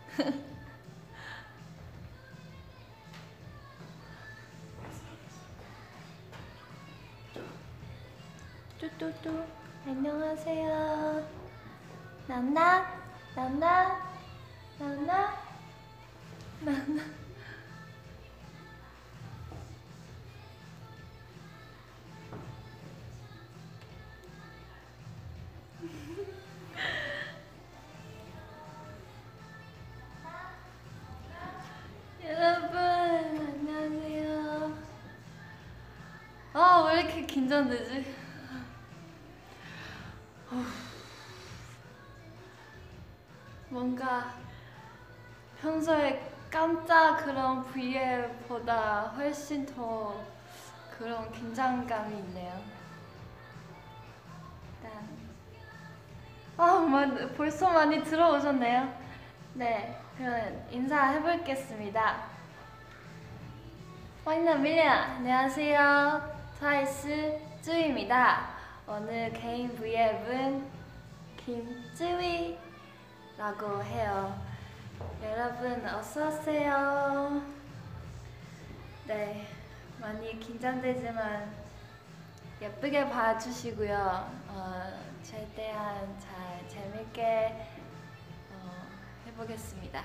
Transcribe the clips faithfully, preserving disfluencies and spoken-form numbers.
뚜뚜뚜 안녕하세요. 나나 나나 나나 나나 여러분 안녕하세요. 아, 왜 이렇게 긴장되지? 뭔가 평소에 깜짝 그런 브이앱보다 훨씬 더 그런 긴장감이 있네요. 일단 아, 만, 벌써 많이 들어오셨네요. 네, 그럼 인사해보겠습니다. 와인나 밀리아 안녕하세요. 트와이스 쯔위입니다. 오늘 개인 브이앱은 김쯔위라고 해요. 여러분 어서오세요. 네, 많이 긴장되지만 예쁘게 봐주시고요. 어, 최대한 잘 재밌게 어, 해보겠습니다.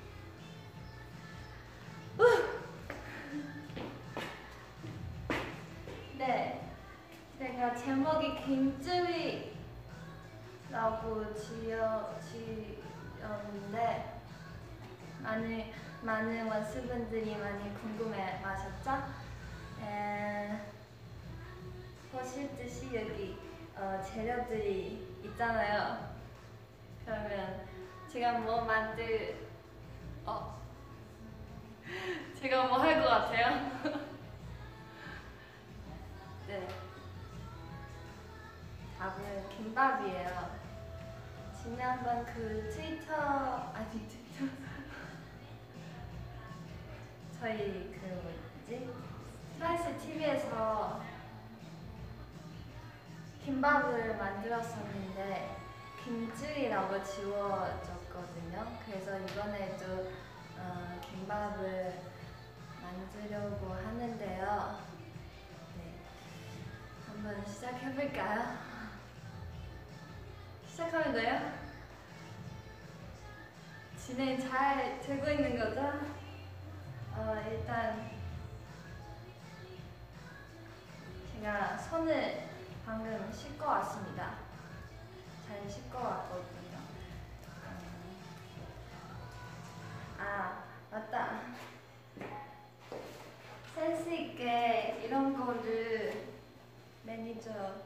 우! 네, 제가 제목이 김쯔위라고 지어, 지었는데 많은, 많은 원수분들이 많이 궁금해 하셨죠? 에, 보시듯이 여기 어, 재료들이 있잖아요. 그러면 제가 뭐 만들... 어? 제가 뭐 할 것 같아요? 네, 답은 김밥이에요. 지난번 그 트위터... 아니 트위터... 저희 그 뭐지? 트와이스 티비에서 김밥을 만들었었는데 김쯔위라고 지워졌거든요. 그래서 이번에도 어, 김밥을 만들려고 하는데요. 네, 한번 시작해볼까요? 시작하면 돼요? 진행 잘 되고 있는 거죠? 어, 일단 제가 손을 방금 씻고 왔습니다. 잘 씻고 왔거든요. 음. 아, 맞다. 센스 있게 이런 거를 매니저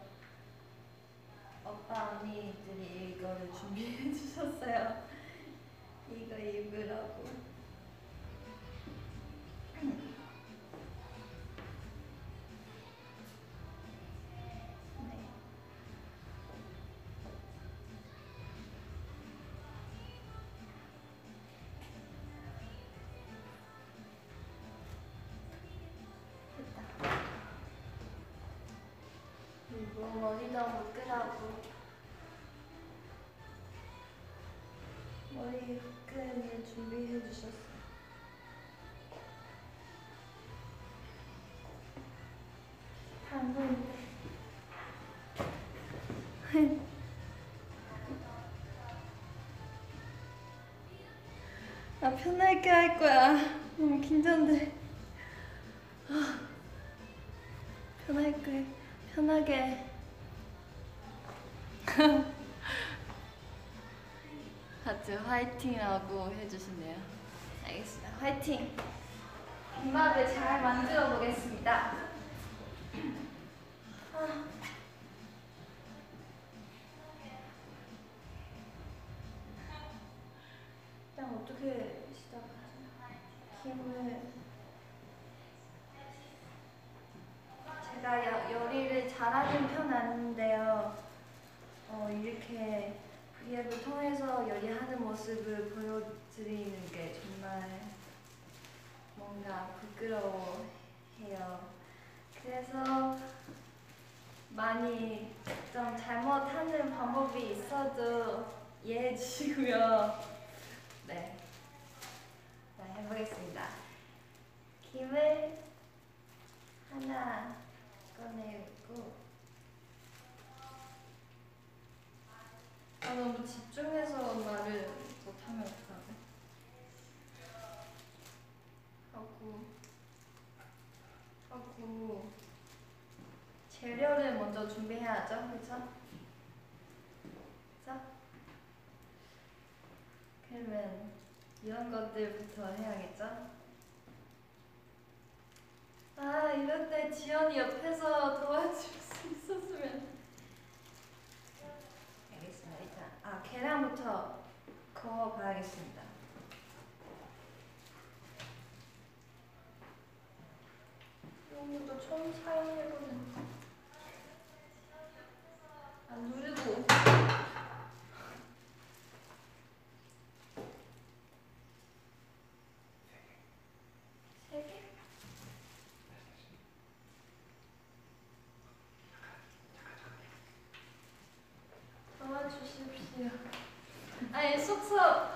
오빠 언니들이 이거를 준비해 주셨어요. 이거 입으라고. 그리고 머리도 묶으라고 머리 묶음을 준비해 주셨어요. 안 보이는데. 나 편하게 할 거야. 너무 긴장돼. 편하게, 편하게. 다들 화이팅이라고 해주시네요. 알겠습니다. 화이팅! 김밥을 잘 만들어 보겠습니다. 아. 일단 어떻게 시작하죠? 김을 제가 요리를 잘하는 편 아닌데요. 어, 이렇게 브이앱을 통해서 요리하는 모습을 보여드리는 게 정말 뭔가 부끄러워해요. 그래서 많이 좀 잘못하는 방법이 있어도 이해해 주시고요. 네, 해보겠습니다. 김을 하나 꺼내고, 아 너무 집중해서 말을 못하면 어떡하지? 하고 하고 재료를 먼저 준비해야죠, 그쵸? 그쵸? 그러면 이런 것들부터 해야겠죠? 아 이럴 때 지연이 옆에서 도와줄 수 있었으면. 알겠습니다. 일단 아 계란부터 구워봐야겠습니다. 이런 것도 처음 사용해보는. 아 누르고 세 개? 도와주십시오. 아니 숙소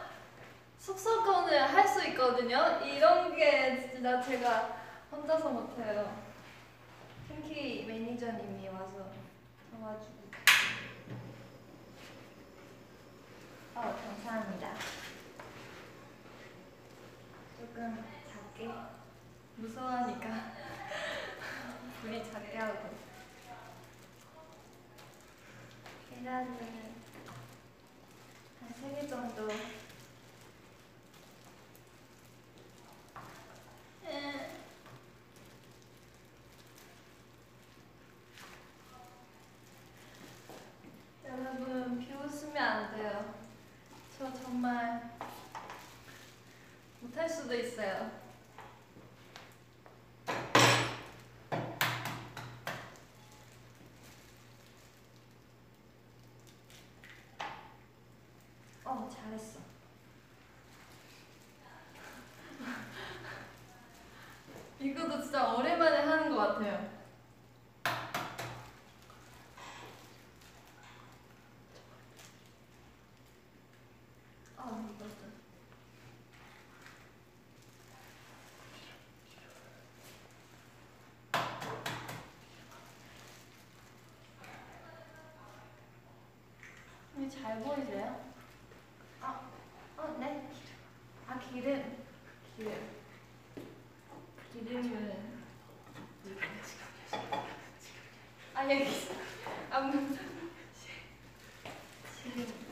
숙소권을 할 수 있거든요. 이런 게 진짜 제가 혼자서 못해요. 특히 매니저님이 와서 도와주고. 어 감사합니다. 조금 작게 무서워하니까 불이 작게 하고. 계란은 한 세 개 정도. 여러분 비웃으면 안 돼요. 저 정말 못할 수도 있어요. 어 잘했어. 이것도 진짜 오랜만에 하는 것 같아요. 아 이것도. 이게 잘 보이세요? 아, 어, 네. 아 기름, 기름, 기름은. 아 여기 있어. 아 무. 지금.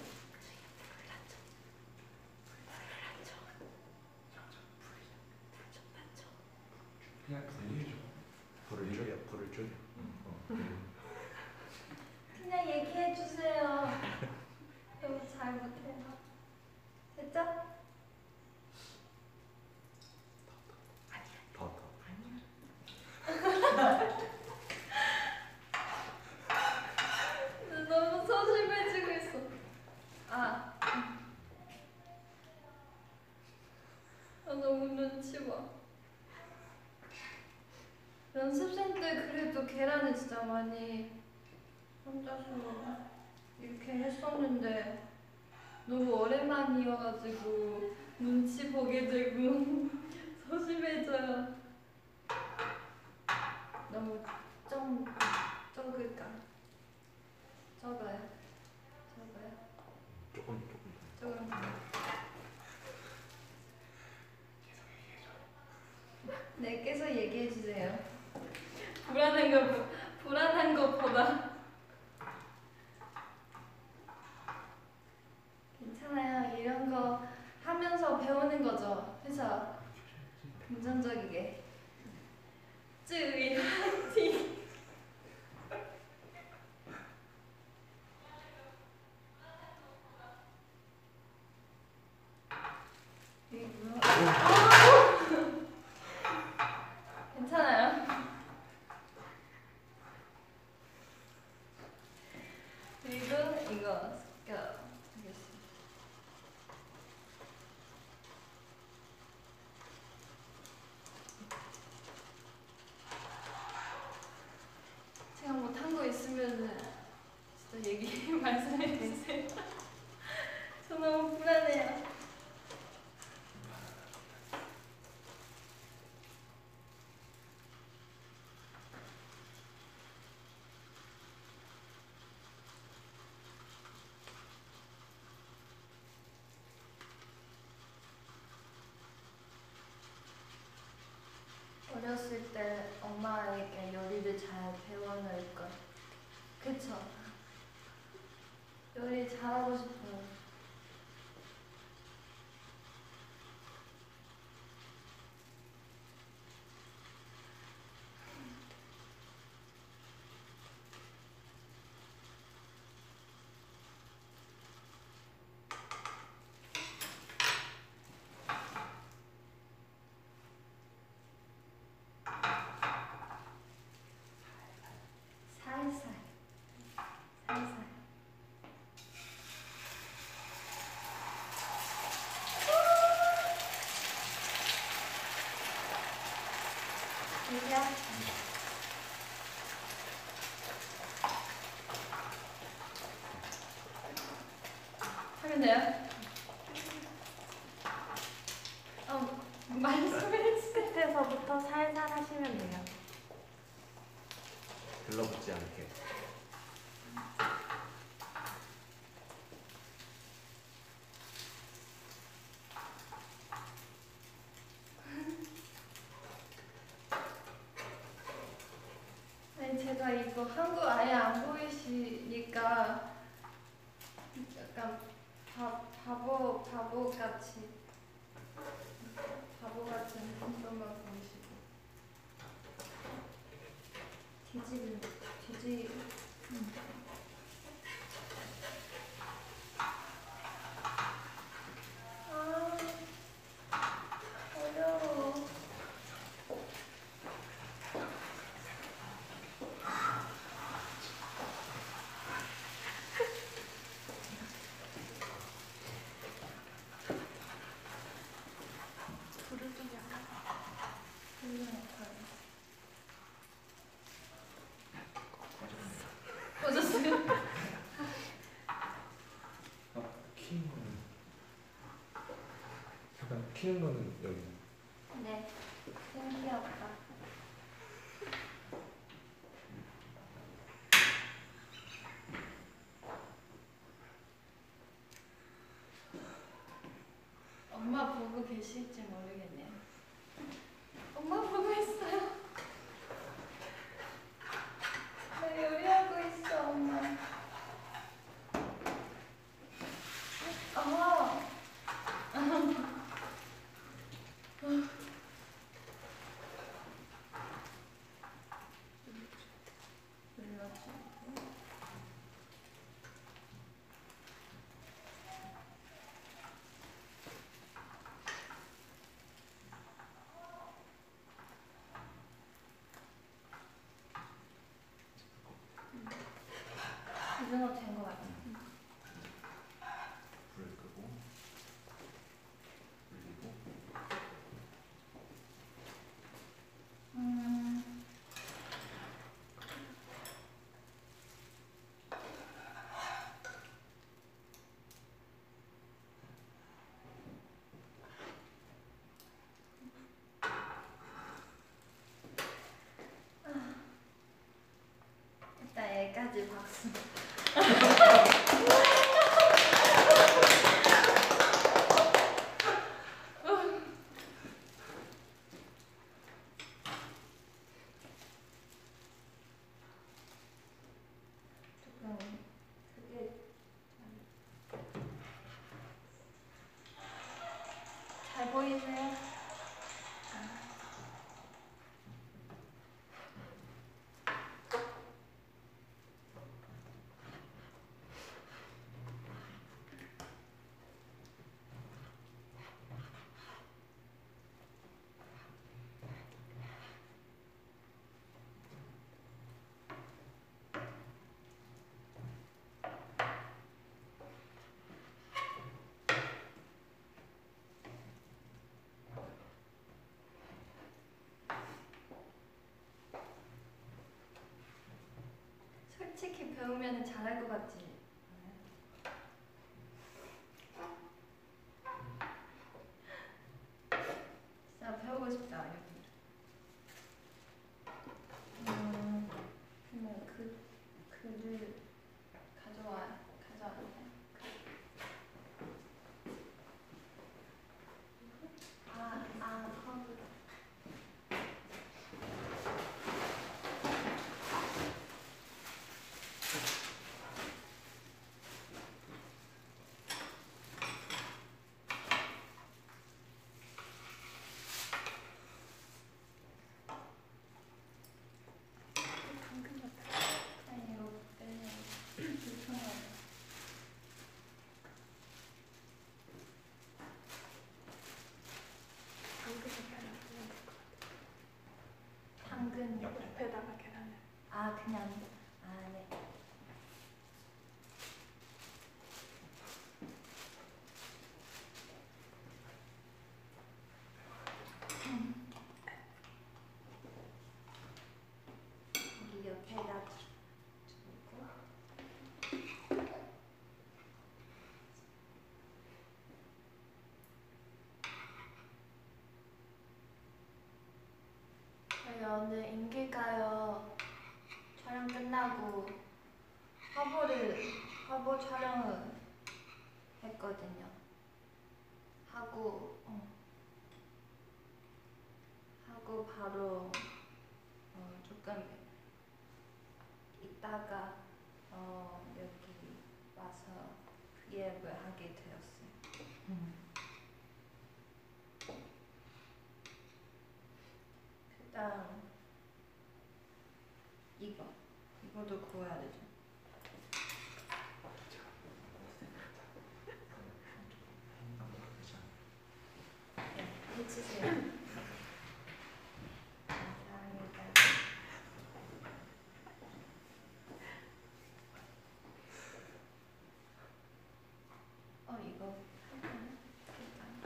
그냥 불이죠. 불을 줄여, 불을 줄여. 그냥 얘기해 주세요. 너무 잘 못해요. 됐죠? 아니야. 더 더. 아니야. 너무 소심해지고 있어. 아. 아 너무 눈치 봐. 연습생 때 그래도 계란을 진짜 많이 혼자서 이렇게 했었는데 너무 오랜만이어가지고 눈치 보게 되고 소심해져요. 너무 좀 적을까? 적어요? 적어요? 조금 조금. 조금. 네, 계속 얘기해 주세요. 불안한 거 불안한 것보다. 괜찮아요. 이런 거 하면서 배우는 거죠. 그래서 긍정적이게. 쯔위 화이팅. 이게 뭐야? 괜찮아요. 넣을까? 그쵸? 요리 잘하고 싶어요. 살살 살살 이제 하면 돼요? 어, 말씀해주세요. 끝에서부터 살살 하시면 돼요. 들러붙지 않게. 아니 제가 이거 한국 아예 안 보이시니까 약간 바, 바보 바보 같이 바보 같은 한쪽만 보이시고 뒤집을 뒤집 음. 아 어려워. 불을 좀 약간. 꺼졌어요? 아, 키는 거는 잠깐 키는 거는 여기. 네, 신기하다. 엄마 보고 계실지 모르겠네요. 엄마 보고 있어요. 나 요리하고 있어, 엄마. 아. 눌러주고. 이 정도 된 것 같아요. 불을 끄고 불리고. 음. 일단 여기까지 박수. 조금 크게 잘 보이세요? 솔직히 배우면 잘할 것 같지? 진짜 배우고 싶다 여기. 음, 그러면 그 글을 가져와 가져와야 돼. 아, 아, 허브. 그냥 안에. 여기 옆에다 두고. 저희 오늘 인기가요 촬영 끝나고 화보를 화보 촬영을 했거든요. 하고 어, 하고 바로 어, 조금 있다가 어, 여기 와서 브이앱을 하게 되었어요. 음. 그다음 이거 이거도 구워야 되죠. 네, 해주세요. 감사합니다. 어 이거 할까요? 일단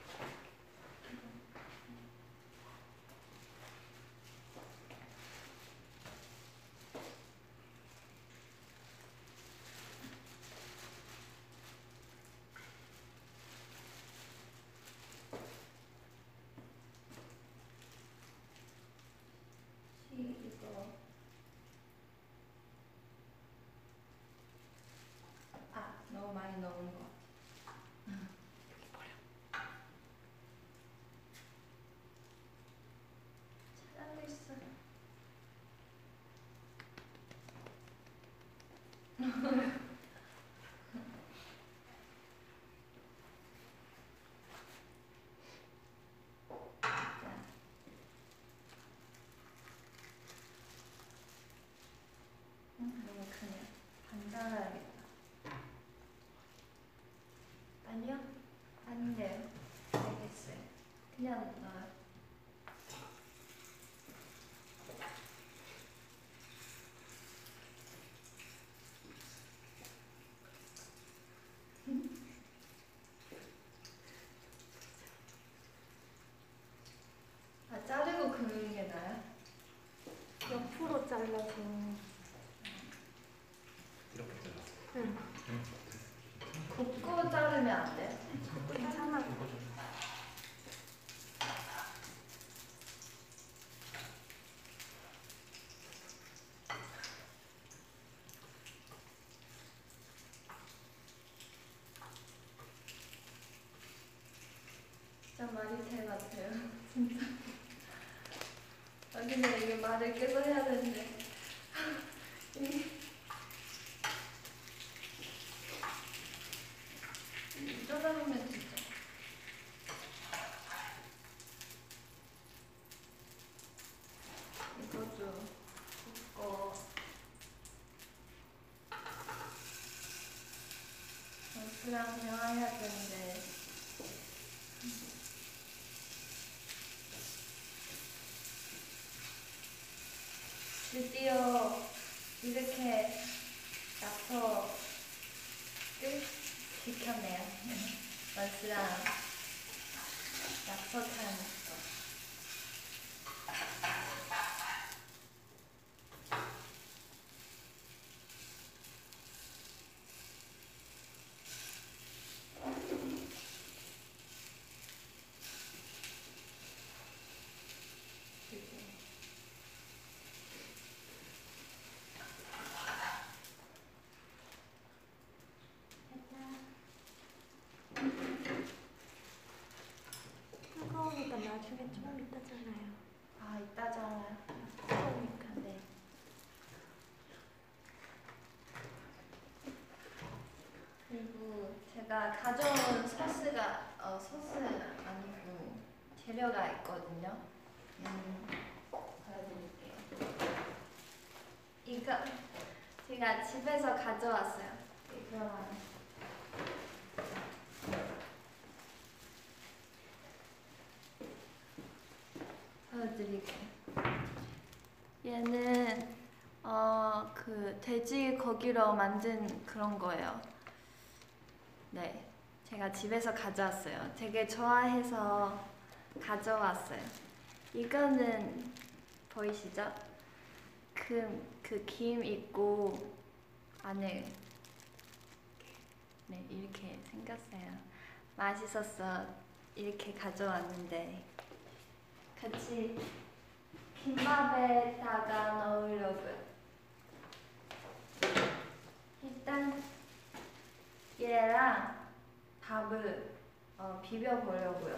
시 이거 아 너무 많이 넣은 거. 잘하고 있어. 자. 음, 너무 크네. 반 잘라야겠다. 아니요? 아닌데요. 알겠어요. 그냥 넣어요. 아, 자르고 그는 게 나아요? 옆으로 잘라서. 이렇게 잘라. 응. 굽고 자르면 안 돼? 괜찮아. 진짜 마리텔 같아요. 진짜. 아 근데 이게 말을 계속 해야 되는데. 쩌다보면 진짜. 이것도 굽고. 연수랑 대화해야 되는데. 드디어 이렇게 낙서 끝 시켰네요. 원스랑 약속한 거. 뜨거우니까 나중에 좀 이따잖아요. 아 이따잖아. 뜨거우니까. 네. 그리고 제가 가져온 소스가 어 소스 아니고 재료가 있거든요. 음, 보여드릴게요. 이거 제가 집에서 가져왔어요. 이거랑 보여드릴게요. 얘는 어 어, 그 돼지 고기로 만든 그런 거예요. 네, 제가 집에서 가져왔어요. 되게 좋아해서 가져왔어요. 이거는 보이시죠? 그, 그 김 있고 안에 네, 이렇게 생겼어요. 맛있어서 이렇게 가져왔는데 같이 김밥에다가 넣으려고요. 일단 얘랑 밥을 어, 비벼 보려고요.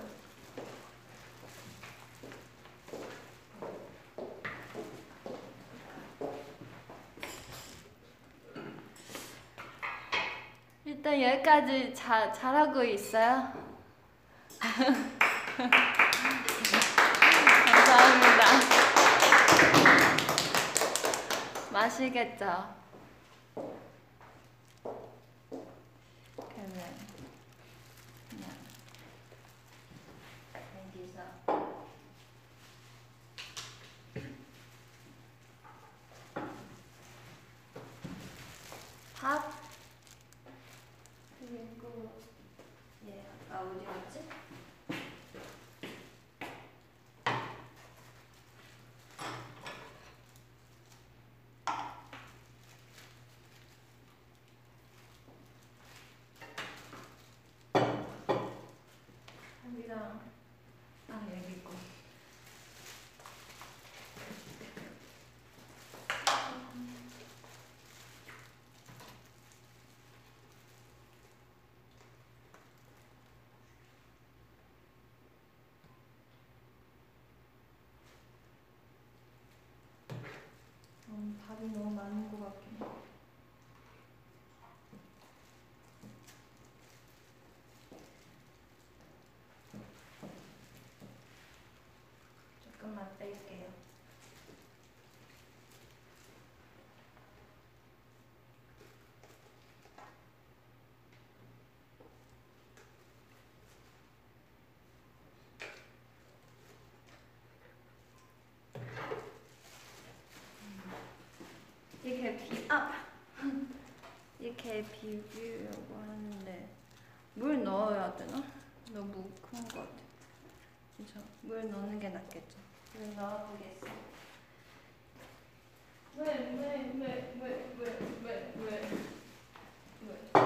일단 여기까지 자, 잘하고 있어요. 감사합니다. 맛있겠죠? 그러면 그냥 여기서 밥 그리고 얘 아까 어디 갔지? 밥이랑 아 여기 있고. 음, 밥이 너무 많은 것 같긴 해. 조금만 뺄게요. 이렇게 비, 아! 이렇게 비비려고 하는데 물 넣어야 되나? 너무 큰 것 같아. 그쵸? 물 넣는 게 낫겠죠? 물 넣어보겠습니다. 물, 물, 물, 물, 물, 물, 물, 물.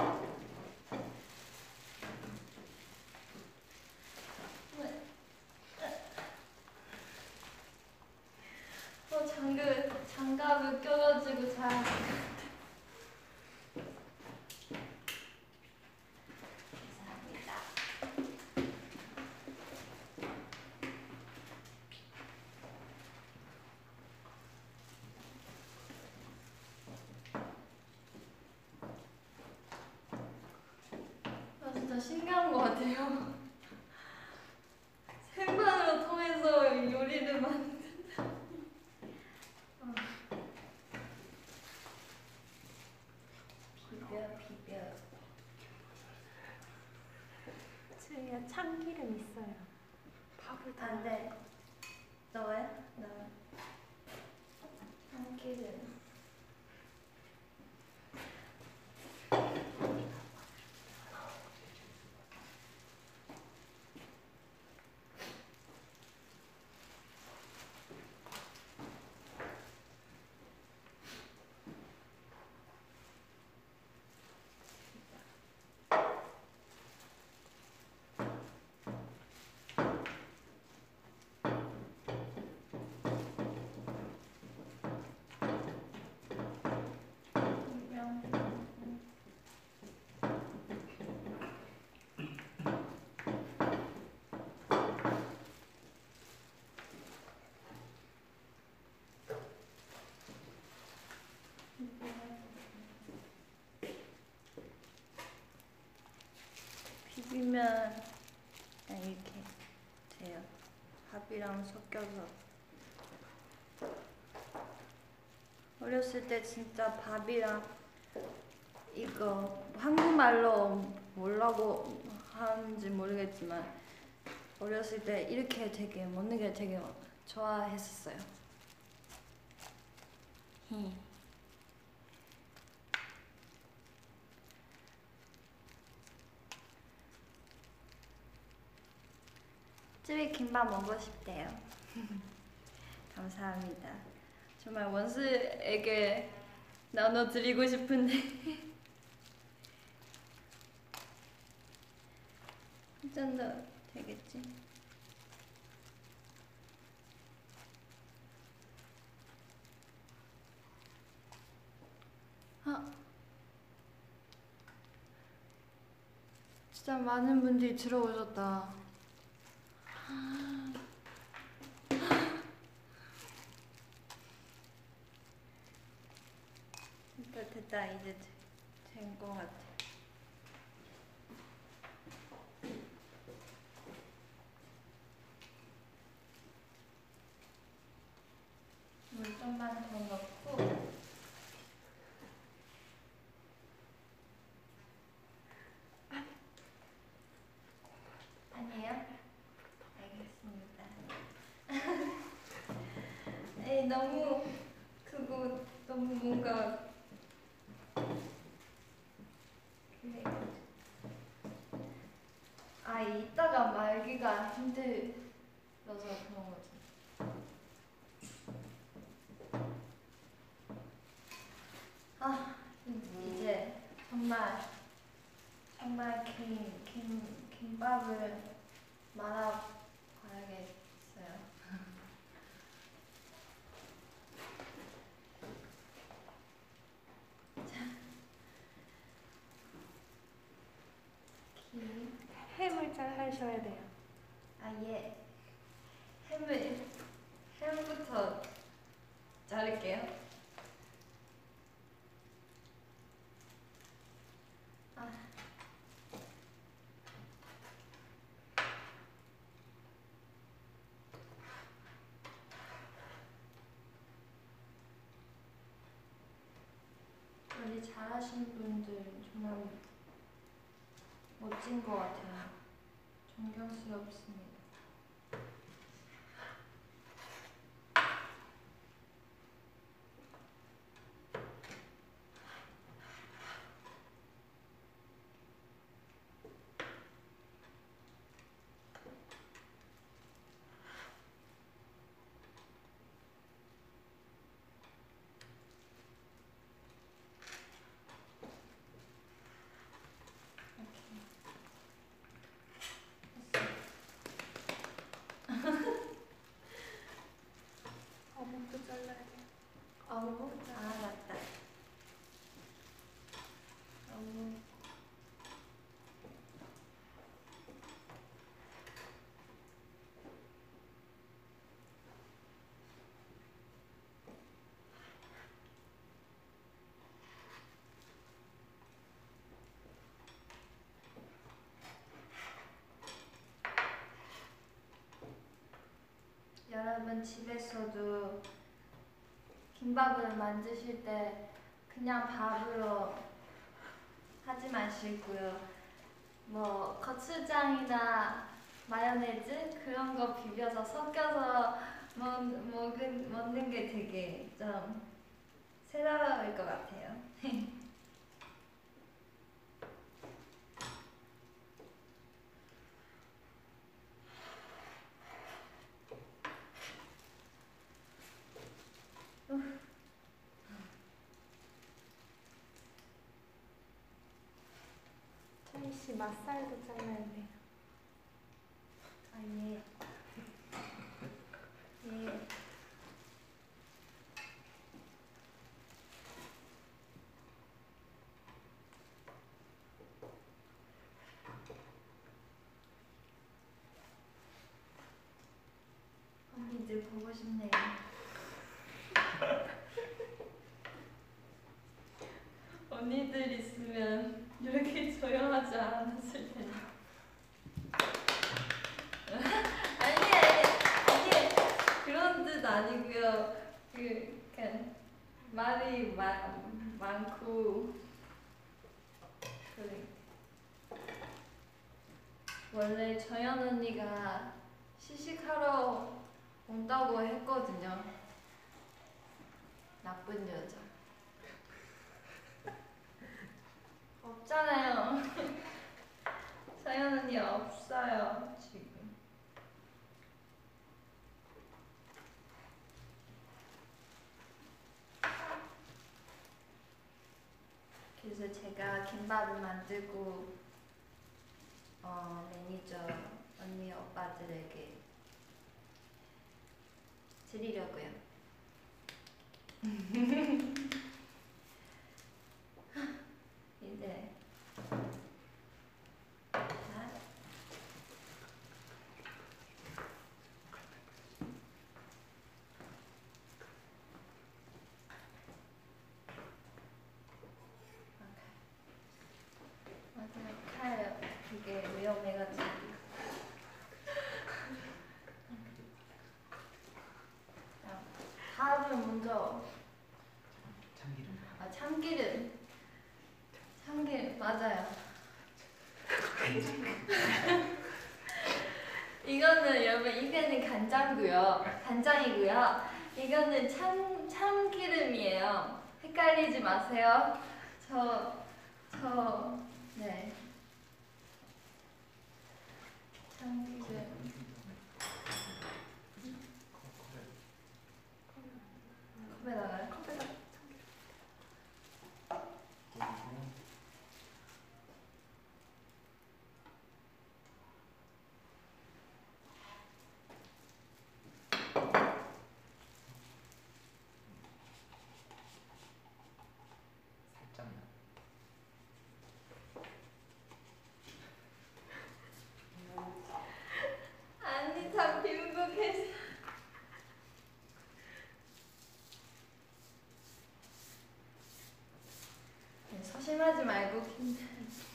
어, 장갑, 장갑을 껴가지고 잘. 감사합니다. 아, 진짜 신기한 것 같아요. 생방으로 통해서 요리를 만든. 아. 비벼, 비벼. 저희가 참기름 있어요. 밥을 다 안 돼. 넣어요? 넣어. 참기름. 비비면 그냥 이렇게 돼요. 밥이랑 섞여서. 어렸을 때 진짜 밥이랑 이거 한국말로 뭐라고 하는지 모르겠지만 어렸을 때 이렇게 되게 먹는 게 되게 좋아했었어요. 히. 쯔위 김밥 먹고 싶대요. 감사합니다. 정말 원수에게 나눠드리고 싶은데 좀 더 되겠지? 아, 진짜 많은 분들이 들어오셨다. 됐다, 됐다. 이제 된 거 같아. 물 좀만 더 넣고. 아니에요? 알겠습니다. 에이, 너무 그거 너무 뭔가 그래. 아, 이따가 말기가 힘들어서 그런 거지. 아, 이제 정말 정말 김, 김, 김밥을 말아 봐야겠어요. 김, 햄을 잘 하셔야 돼요. 아, 예. 햄을, 햄부터 자를게요. 아. 요리 잘하시는 분들 정말 멋진 것 같아요. 존경스럽습니다. 어묵도 잘라야 돼요. 어묵? 아, 맞다. 어묵. 여러분 집에서도 김밥을 만드실 때 그냥 밥으로 하지 마시고요. 뭐 고추장이나 마요네즈 그런 거 비벼서 섞여서 먹, 먹은, 먹는 게 되게 좀 새로울 것 같아요. 차이씨 맛살도 잘라야 돼요. 아, 예. 예. 언니들 보고 싶네요. 언니들 있으면 이렇게 조용하지 않았을 텐데. 아니 아니 아니 그런 뜻 아니고요. 그 그냥 말이 많 많고 그래. 원래 저연 언니가 시식하러 온다고 했거든요. 나쁜 여자. 없잖아요. 서연 언니 없어요 지금. 그래서 제가 김밥을 만들고 어, 매니저 언니 오빠들에게 드리려고요. 이제 자, 맞아요. 칼 되게 위험해가지고. 자, 밥을 먼저 참기름. 아 참기름 참기름 맞아요. 이거는 여러분 이거는 간장고요. 간장이고요. 이거는 참 참기름이에요. 헷갈리지 마세요. 저 저 네. 참기름. 컵에다가요? 컵에다 살짝만. 아니 다 비우고 계세요. 소심하지 말고 긴장.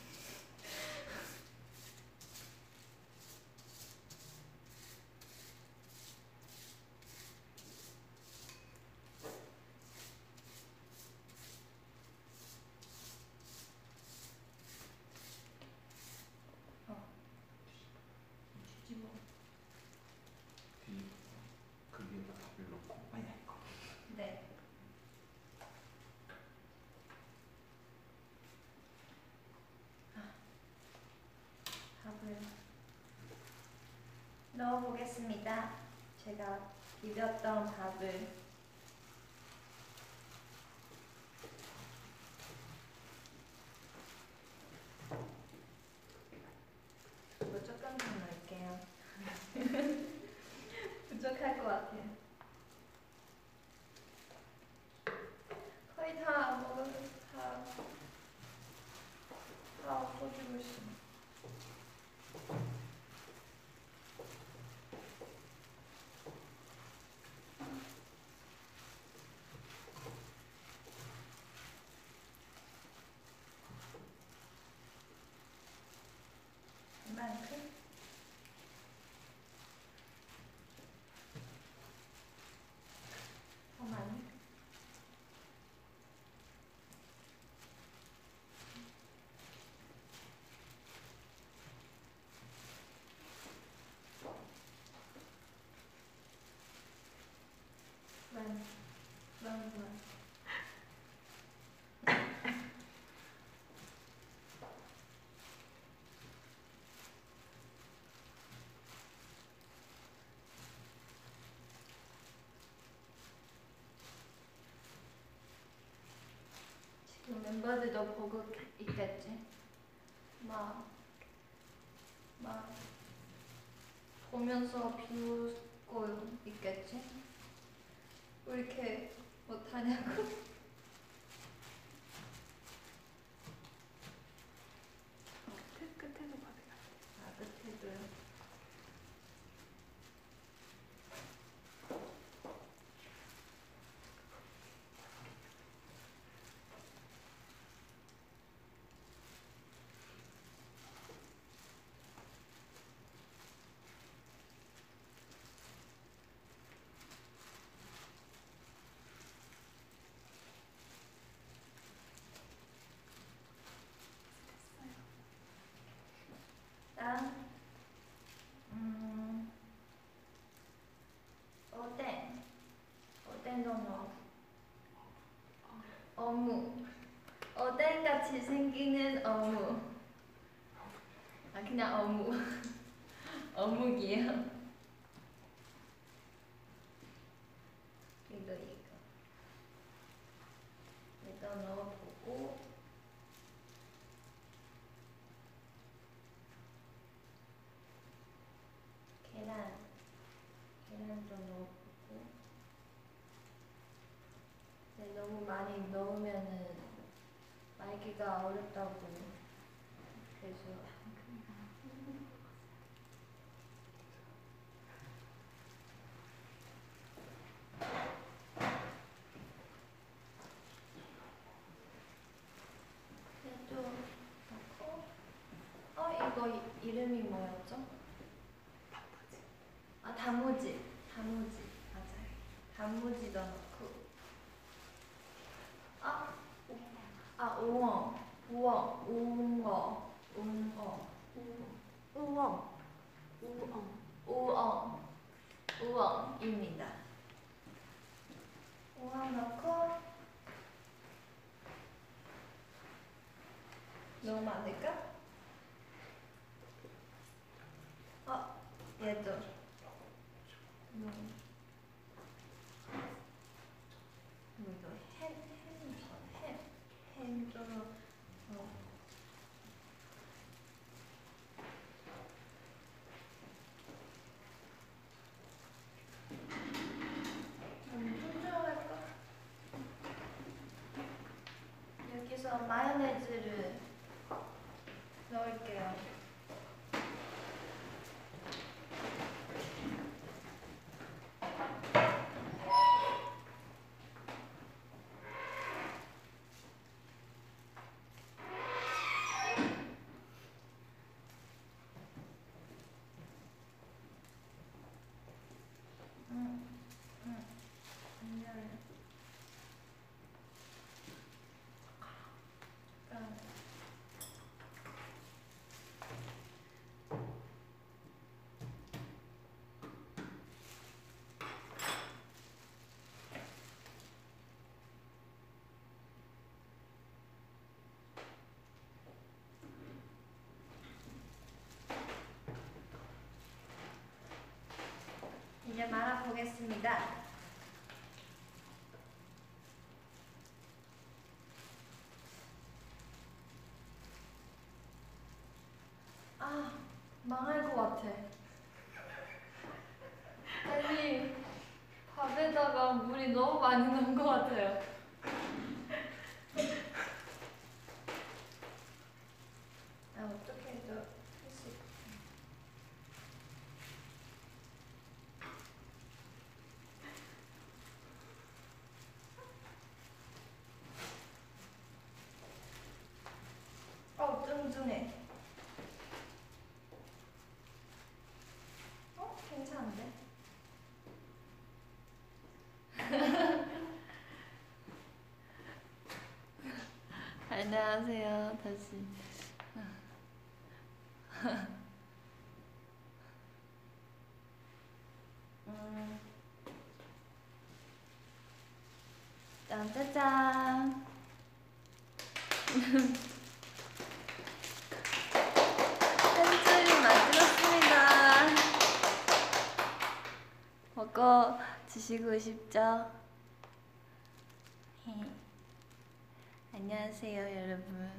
어. 뒤집어. 뒤. 그 위에다 밥을 넣고. 아니 아니 이거. 네. 밥을 넣어보겠습니다. 제가 비볐던 밥을 이거 조금 더 넣을게요. 부족할 것 같아요. 거의 다 먹을 다, 다 없어지고 있어. 이만큼? 더 많이? 그만, 그만, 그만. 지금 멤버들도 보고 있겠지? 막, 막 보면서 비웃고 있겠지? 왜 이렇게 못하냐고? 끝 끝에도 받아요. 아, 끝에도요. 다음, 음, 오뎅, 오뎅도 넣어. 어묵, 오뎅 같이 생기는 어묵. 아 그냥 어묵, 어묵이에요. 이거 이거. 이거 넣어보고. 넣으면은 말기가 어렵다고. 그래서 얘도 넣고. 어 이거 이, 이름이 뭐였죠? 아 단무지. 단무지 맞아요. 단무지도 넣고. 아, 아 우엉. 우엉. 우엉어. 우엉어. 우엉. 우엉. 우엉. 우엉입니다. 우엉 넣고. 넣으면 안 될까? 어, 얘도. 음. 이거 햄, 햄, 햄, 햄 좀. 어. 음, 손질할까? 여기서 마요네즈를 넣을게요. 응, 응, 안 열려. 잠깐. 이제 말아 보겠습니다. 아, 망할 것 같아. 아니, 밥에다가 물이 너무 많이 넣은 것 같아요. 아, 어떻게 해도 할 수 있어. 어, 뚱뚱해. 어, 괜찮은데? 안녕하세요. 다시. 음. 짠짜잔. 한 줄이 만들었습니다. 먹어 주시고 싶죠? 안녕하세요, 여러분.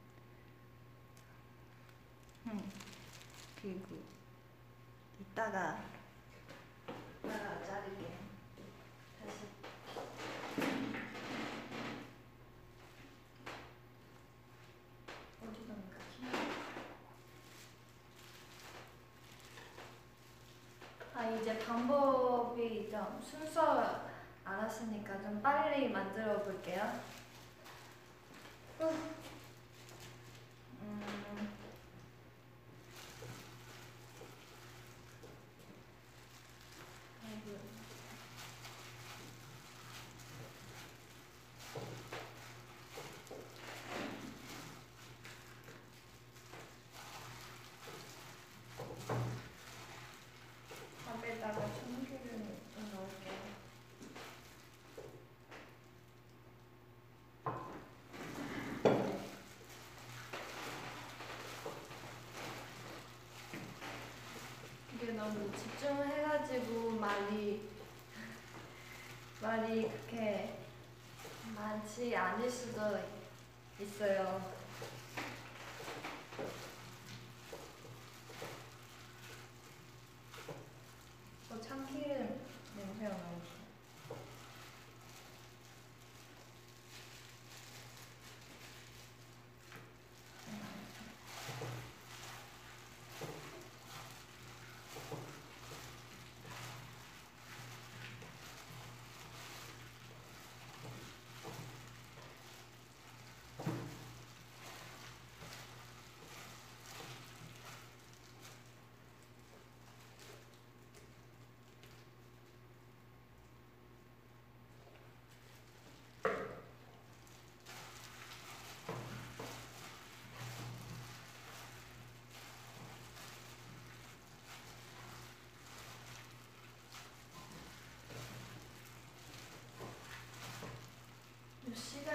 음. 그리고 이따가 이따가 자르게. 다시. 어디다 놓지? 아, 이제 방법이 좀 순서 알았으니까 좀 빨리 만들어 볼게요. 음. 아이고. 밥에다가 참기름 좀 넣을게요. 이게 너무 집중해가지고 말이 말이 그렇게 많지 않을 수도 있어요. 저 참기름 냄새가 너무 좋아.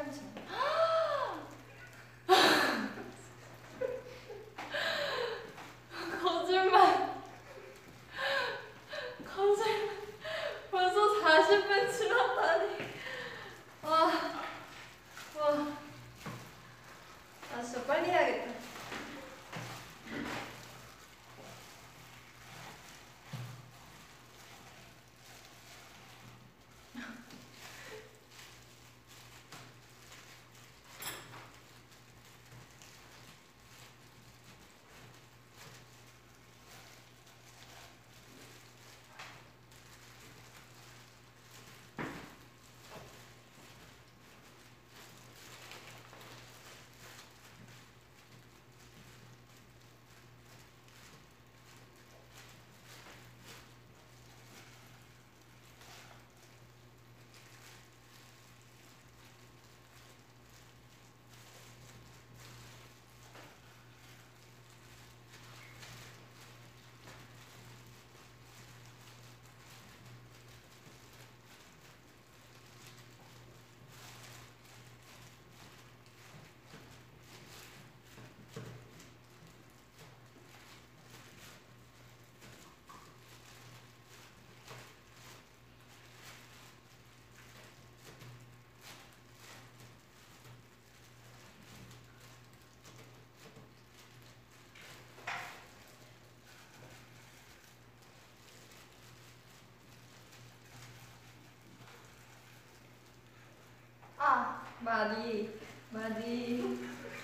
벤치. 거짓말. 거짓말. 벌써 사십 분 지났다니. 와. 와. 아 진짜 빨리 해야겠다. 아, 말이, 말이.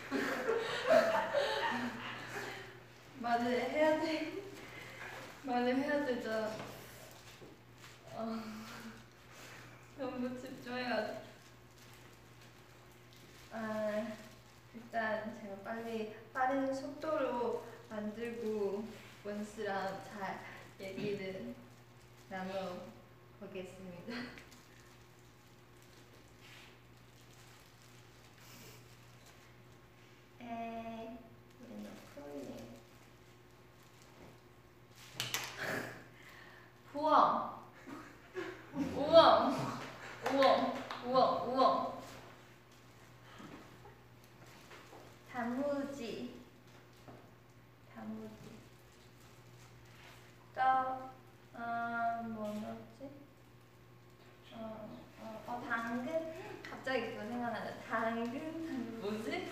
말을 해야 돼. 말을 해야 되죠. 어, 너무 집중해가지고. 아, 일단 제가 빨리 빠른 속도로 만들고 원스랑 잘 얘기를 나눠보겠습니다. 에, 이제 넣고 얘. 부엉, 우엉, 우엉, 우엉, 우엉. 단무지, 단무지. 또, 어, 뭐 넣었지? 어, 어, 어, 당근? 갑자기 그거 생각나네. 당근, 당근 뭐지?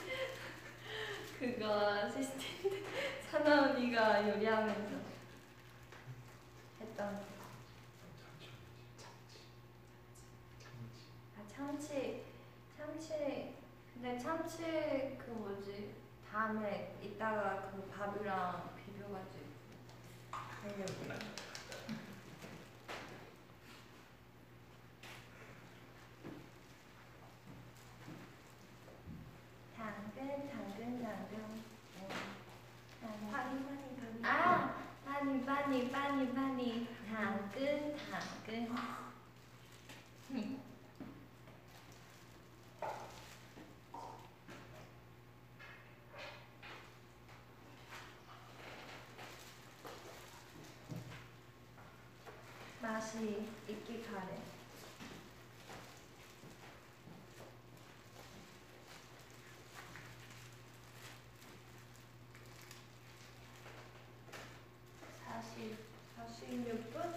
그거 시스템 사나 언니가 요리하면서 했던. 아 참치, 참치. 근데 참치 그 뭐지? 다음에 이따가 그 밥이랑 비벼가지고 하려고요. 당근, 당근, 당근. 어, 바니 바니 바니. 아, 바니, 바니, 바니, 바니. 당근, 당근. 맛이 있기 바래. 사십, 사십육 분?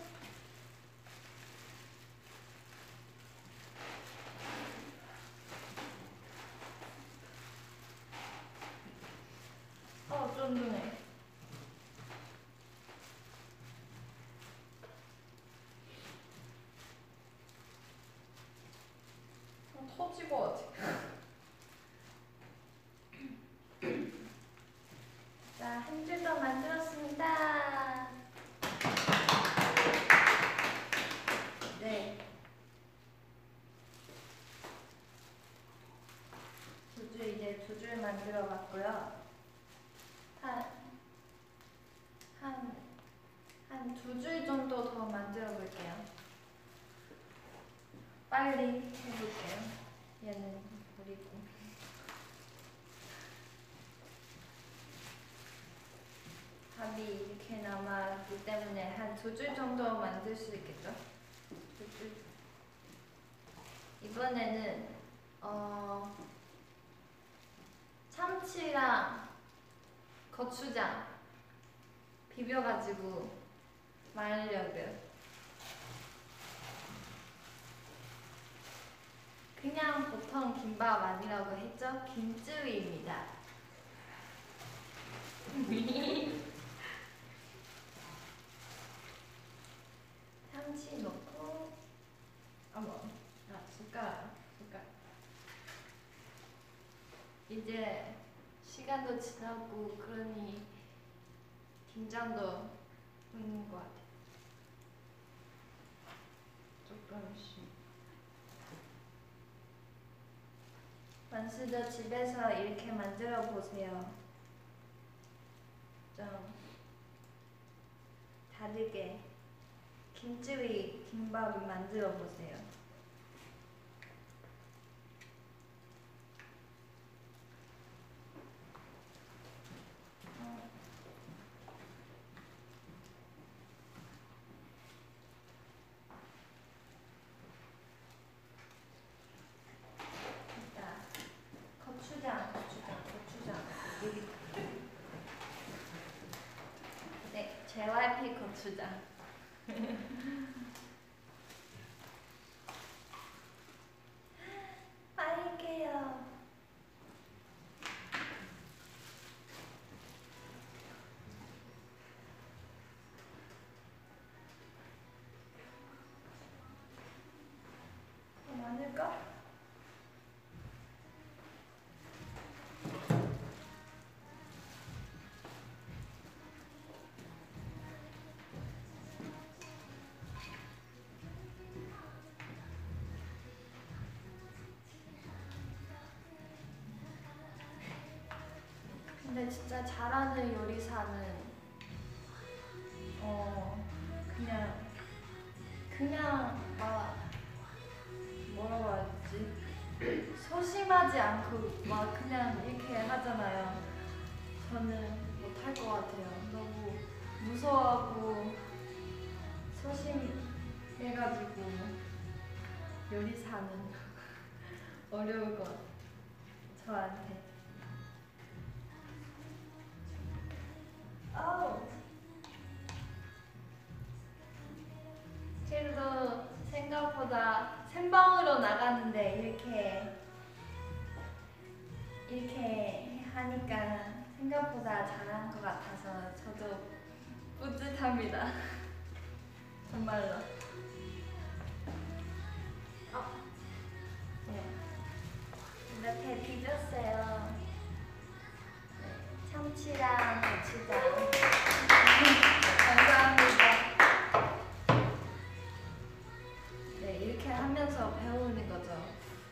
어, 쫀쫀해. 어, 터질 것 같아. 자, 한 줄 더 만들었습니다. 네. 두 줄, 이제 두 줄 만들어 봤고요. 한, 한, 한 두 줄 정도 더 만들어 볼게요. 빨리 해볼게요. 얘는 버리고. 답이 이렇게 남았기 때문에 한 두 줄 정도 만들 수 있겠죠? 두 줄. 이번에는 어, 참치랑 고추장 비벼가지고 말려고요. 그냥 보통 김밥 아니라고 했죠? 김쯔위입니다. 참치 넣고 어머, 아 숟가락 숟가락. 이제 시간도 지나고 그러니 긴장도 있는 것 같아. 조금씩. 만수도 집에서 이렇게 만들어 보세요. 좀 다르게 김치위 김밥을 만들어 보세요. 어. 자, 고추장, 고추장, 고추장. 여기. 네, 제이와이피 고추장. 할게요. 더 많을까? 근데 진짜 잘하는 요리사는 어 그냥 그냥 막 뭐라고 하지? 소심하지 않고 막 그냥 이렇게 하잖아요. 저는 못할 것 같아요. 너무 무서워하고 소심해가지고 요리사는 어려울 것 같아요. 저한테. 아우. 그래도 생각보다 생방으로 나가는데 이렇게 이렇게 하니까 생각보다 잘한 것 같아서 저도 뿌듯합니다. 정말로. 어. 네. 이렇게 비볐어요. 네. 참치랑 고추장. 감사합니다. 네, 이렇게 하면서 배우는 거죠.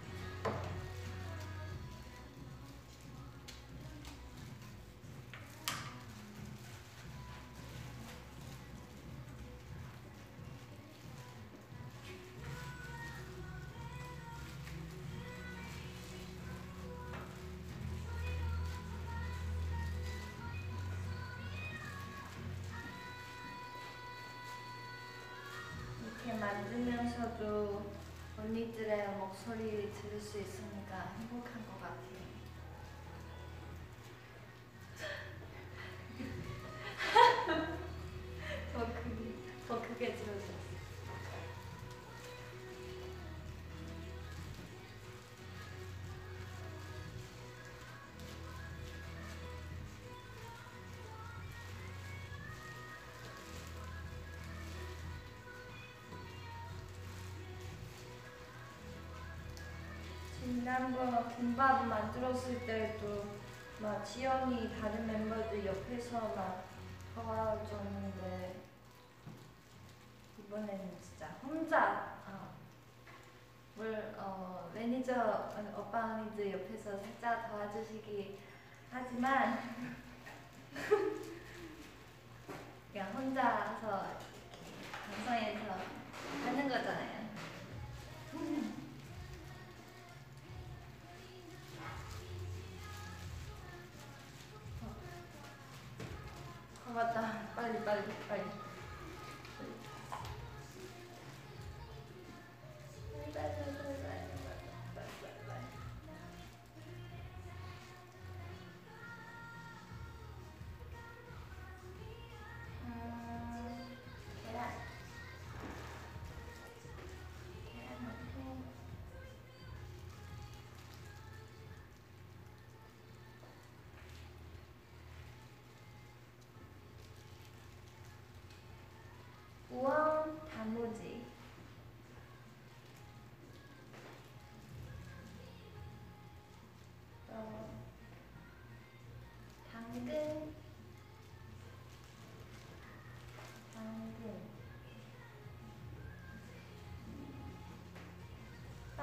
이렇게 만들면서도 언니들의 목소리를 들을 수 있으니까 행복한 것 같아요. 더 크게, 더 크게 들어줬어. 지난번 김밥 만들었을 때도 막 지연이 다른 멤버들 옆에서 막 도와줬는데 이번에는 진짜 혼자 어, 물, 어, 매니저 오빠 언니들 옆에서 살짝 도와주시기 하지만 그냥 혼자서 이렇게 방송에서 하는 거잖아요. 아 맞다. 빨리 빨리 빨리. 빨리 빨리 빨리 빨리 빨리 빨리 빨리.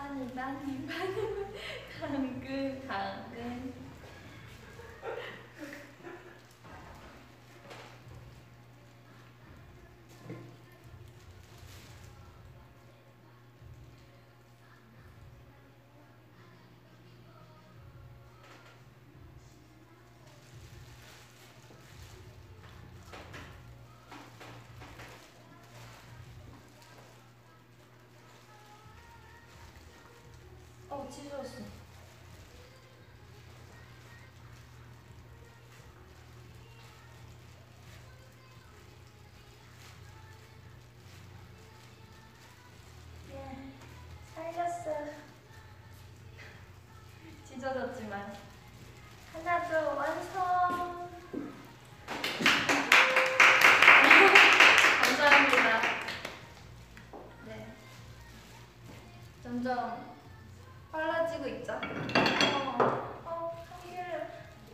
많이 많이 많이 당근 당근. 어, 찢어졌어. 예, 살렸어. 찢어졌지만 하나도 완성. 감사합니다. 네, 점점 빨라지고 있죠? 어, 어, 한 줄,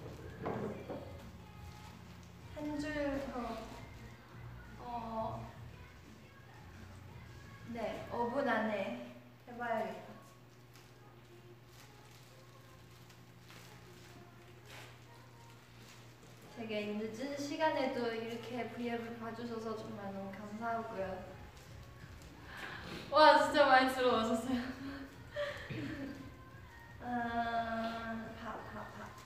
한 줄 더, 어, 네, 오 분 안에 해봐야겠다. 되게 늦은 시간에도 이렇게 브이앱을 봐주셔서 정말 너무 감사하고요. 와, 진짜 많이 들어오셨어요. 음, 밥, 밥, 밥.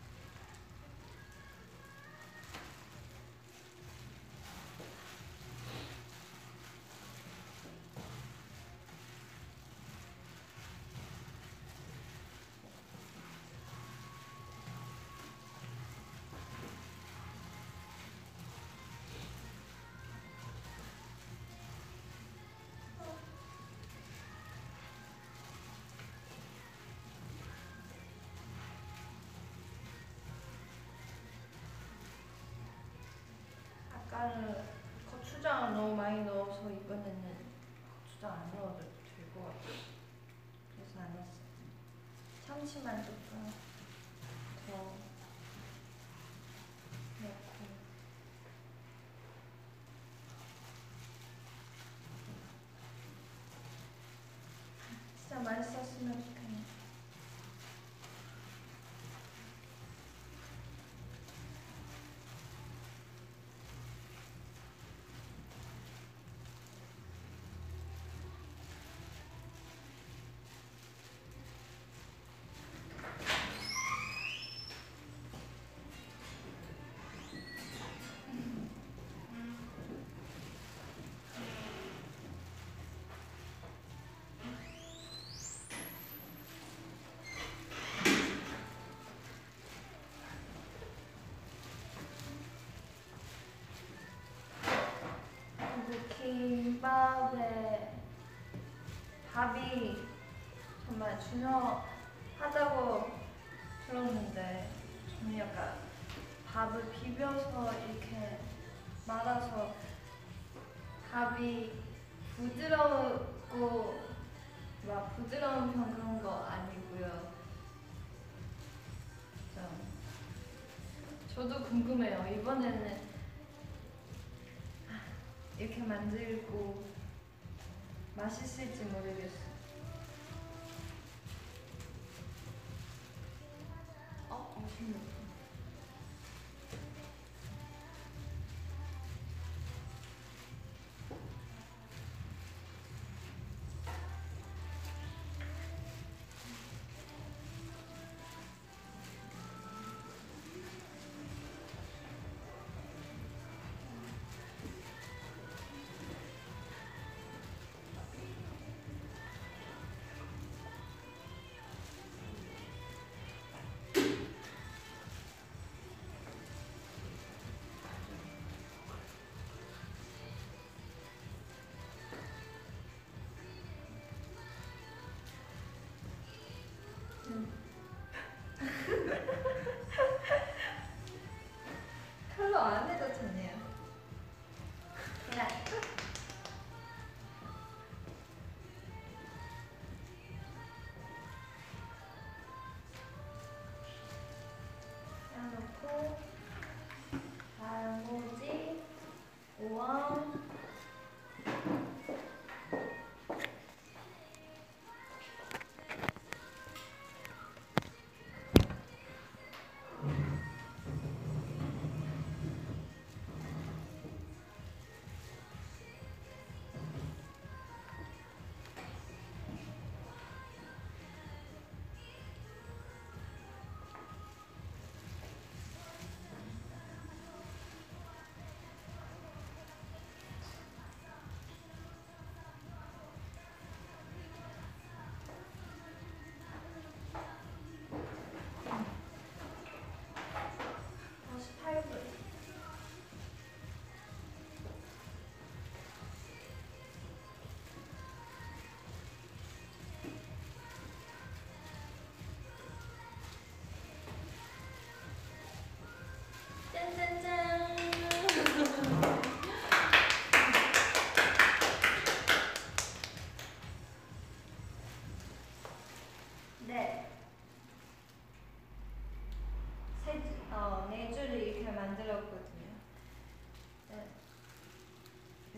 아까는 고추장을 너무 많이 넣어서 이번에는 고추장 안 넣어도 될 것 같아요. 그래서 안 했어요. 참치만 조금 더 넣고. 진짜 맛있었으면 좋겠네. 김밥에 밥이 정말 중요하다고 들었는데 저는 약간 밥을 비벼서 이렇게 말아서 밥이 부드럽고 막 부드러운 편 그런 거 아니고요. 좀 저도 궁금해요. 이번에는 이렇게 만들고 맛있을지 모르겠어요. 어? 맛있네.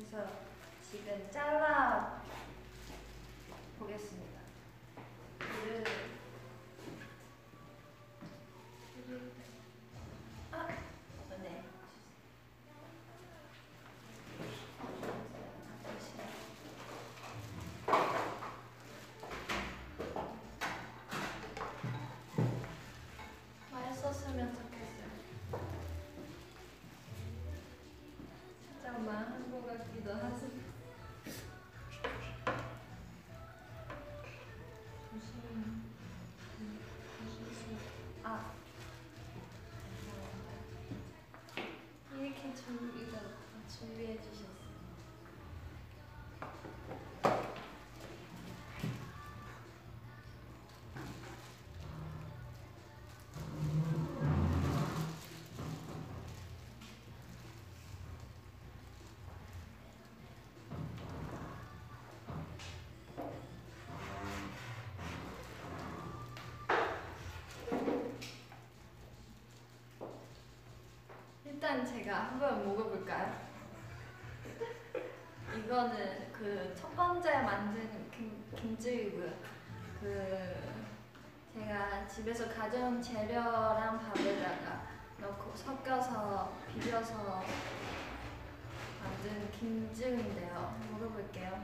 그래서 지금 잘라 보겠습니다. 물을 아, 네. 맛있었으면 좋겠어요. 살짝 망한 것 같기도 하지. 조심. 아. 이렇게 준비가 준비해 주셨어요. 일단 제가 한번 먹어볼까요? 이거는 그 첫 번째 만든 김, 김치고요. 그 제가 집에서 가져온 재료랑 밥에다가 넣고 섞여서 비벼서 만든 김치인데요. 먹어볼게요.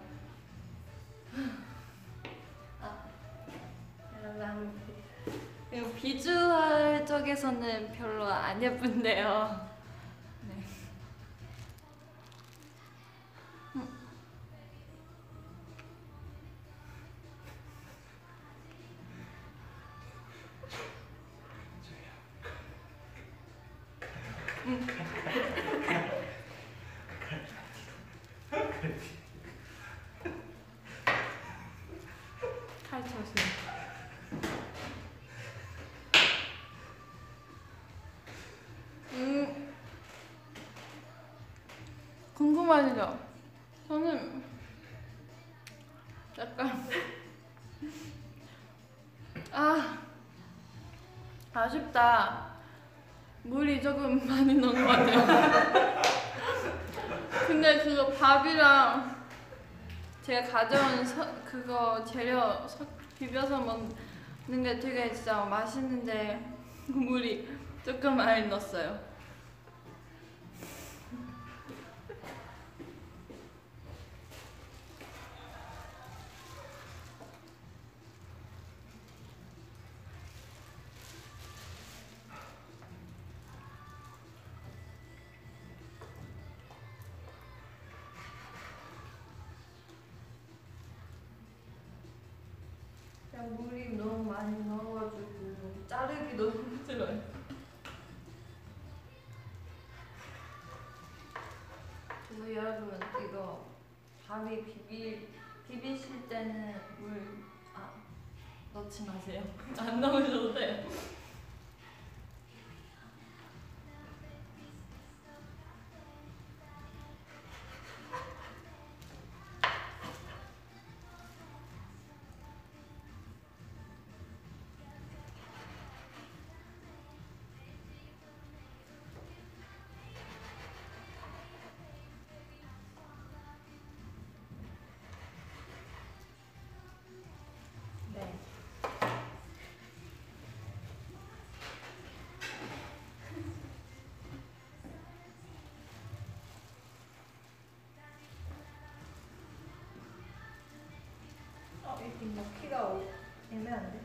아, 여러분 이거 비주얼 쪽에서는 별로 안 예쁜데요. 네. 음. 칼 조심. 음. 궁금하시죠? 저는 약간 아 아쉽다. 물이 조금 많이 넣은 것 같아요. 근데 그거 밥이랑 제가 가져온 서, 그거 재료 서, 비벼서 먹는 게 되게 진짜 맛있는데 물이 조금 많이 넣었어요. 그냥 물이 너무 많이 넣어가지고 자르기 너무 힘들어요. 그래서 여러분 이거 밥이 비비 비비실 때는 물 아 넣지 마세요. 안 넣으셔도 돼요. 네. 어, 이렇게 넣기가 어- 애매한데?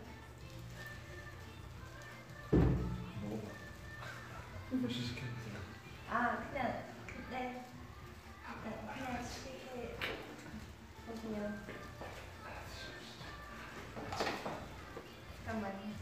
뭐 무시 시켰어요. 아 그냥 네. 네 그냥 쉽게 보세요. 잠깐만요.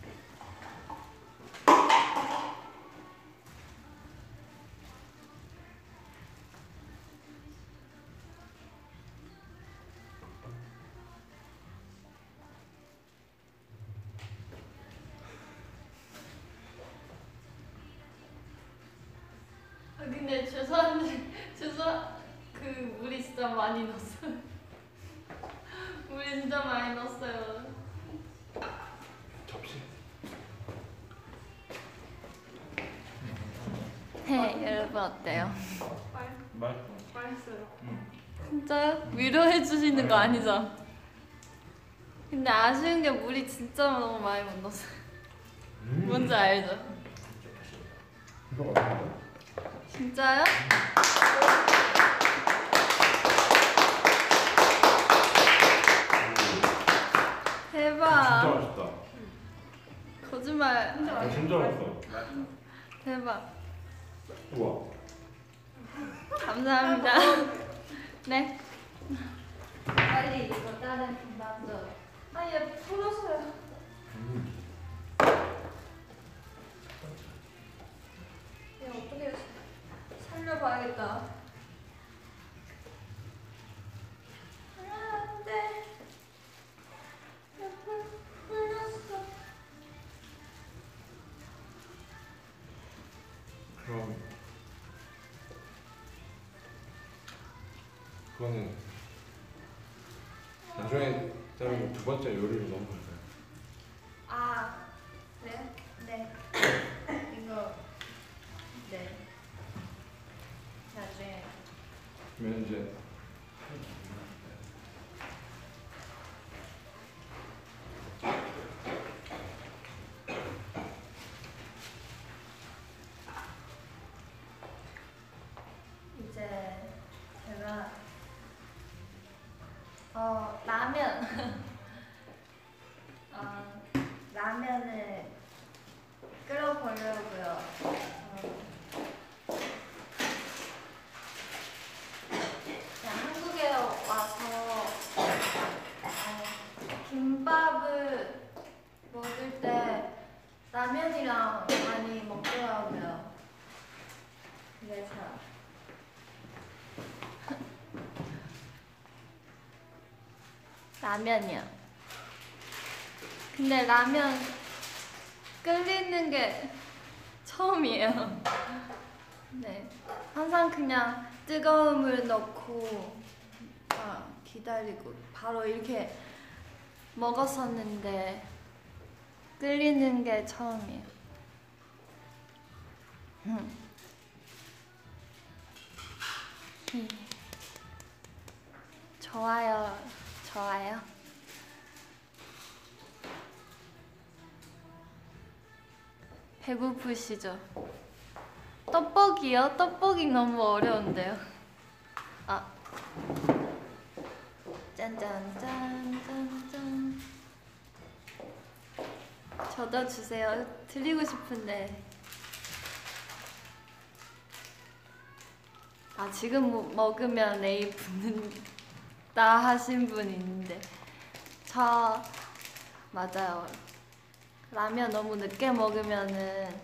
아 근데 죄송한데 죄송 그 물이 진짜 많이 넣었어요. 물이 진짜 많이 넣었어요. 접시. 네 여러분 어때요? 맛 맛있어. 맛있어요. 응. 진짜요? 위로해 주시는 거 아니죠? 근데 아쉬운 게 물이 진짜 너무 많이 못 넣었어요. 음. 뭔지 알죠? 이거 맛있다. 진짜요? 진짜 대박. 맛있다. 거짓말. 아, 진짜 맛있어. 대박. 우와. 감사합니다. 네. 빨리 이거 다른 김밥도. 아, 얘 풀었어요. 음. 얘 어떻게 살려봐야겠다. 아, 안 돼. 얘 풀, 풀렸어. 그럼 그거는 나중에 다른 두 번째 요리를 넘어갈까요? 아, 네? 네. 이거, 네. 나중에. 그러면 이제 이제 제가 어 라면 어 라면을 끓여보려고요. 어, 그냥 한국에 와서 어, 김밥을 먹을 때 라면이랑 많이 먹더라고요. 그래서 라면이요. 근데 라면 끓이는 게 처음이에요. 네, 항상 그냥 뜨거운 물 넣고 아, 기다리고 바로 이렇게 먹었었는데 끓이는 게 처음이에요. 음. 음. 좋아요, 좋아요. 배고프시죠? 떡볶이요? 떡볶이 너무 어려운데요. 아, 짠짠짠짠짠. 저도 주세요. 드리고 싶은데. 아, 지금 뭐- 먹으면 내일 붓는다 하신 분 있는데 저 맞아요. 라면 너무 늦게 먹으면은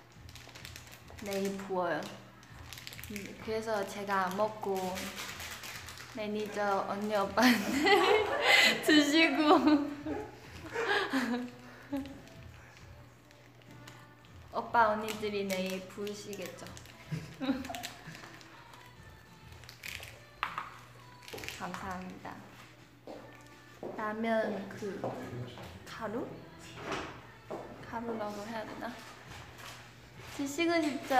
내일 부어요. 음, 그래서 제가 안 먹고 매니저 언니 오빠한테 드시고 오빠 언니들이 내일 부으시겠죠. 감사합니다. 라면 그 가루? 가루라고 해야 되나? 드시고 싶죠?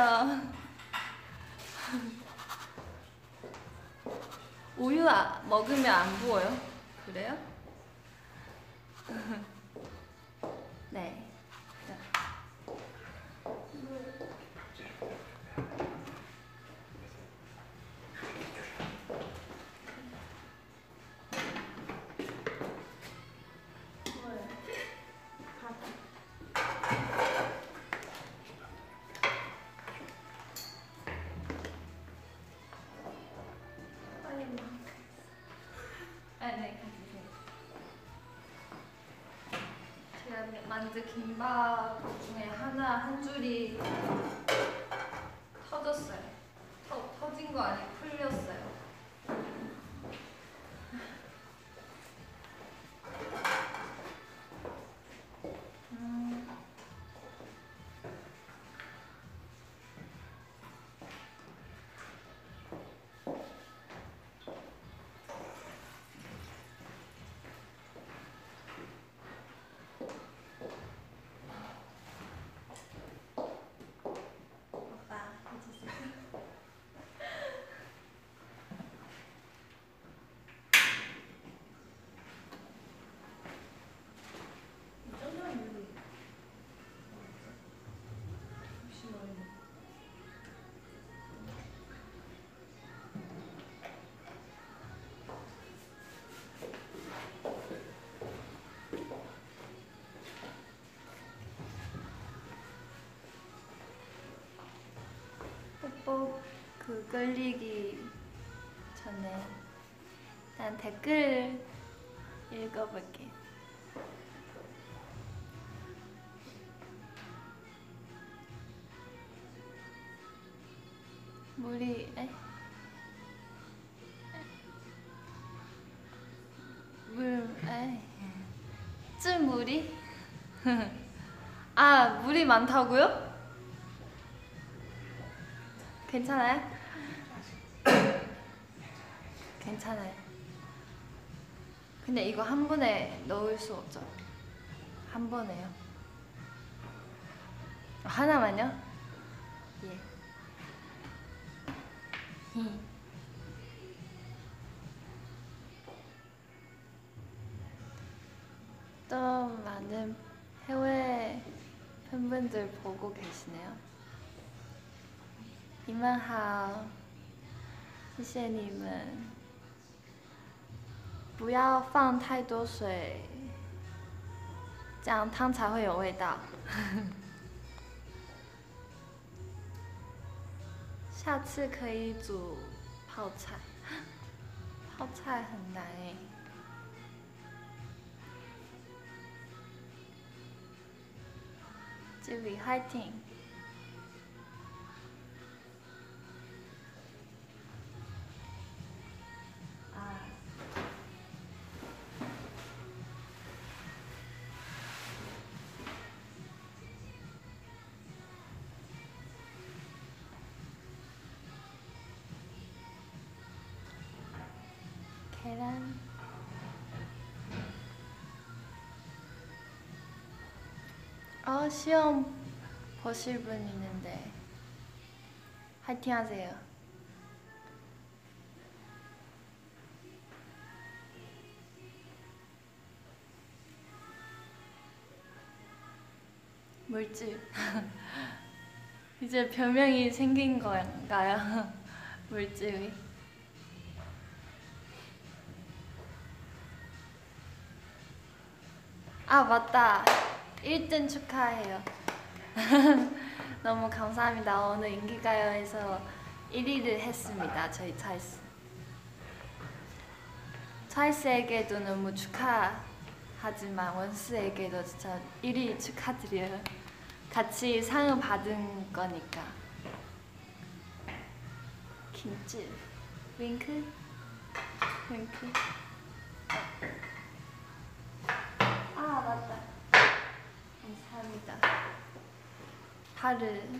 우유 아, 먹으면 안 부어요? 그래요? 네. 제가 만든 김밥 중에 하나 한 줄이 터졌어요. 터, 터진 거 아니고 풀렸어요. 음. 오빠 해주세요. 그 끌리기 전에 일단 댓글 읽어볼게. 물이 에? 물 에? 쯤 물이? 아 물이 많다고요? 괜찮아요? 괜찮아요. 근데 이거 한 번에 넣을 수 없죠? 한 번에요. 하나만요? 예. 또 많은 해외 팬분들 보고 계시네요. 이만하오, 谢谢你们。不要放太多水，这样汤才会有味道。下次可以煮泡菜，泡菜很难哎。这里 fighting。계란. 어, 시험 보실 분 있는데 화이팅 하세요. 물집. 이제 별명이 생긴 건가요? 물집이. 아 맞다, 일 등 축하해요. 너무 감사합니다. 오늘 인기가요에서 일 위를 했습니다. 저희 트와이스. 트와이스에게도 너무 축하하지만 원스에게도 진짜 일 위 축하드려요. 같이 상을 받은 거니까. 김치 윙크 윙크. 아 맞다, 감사합니다. 팔을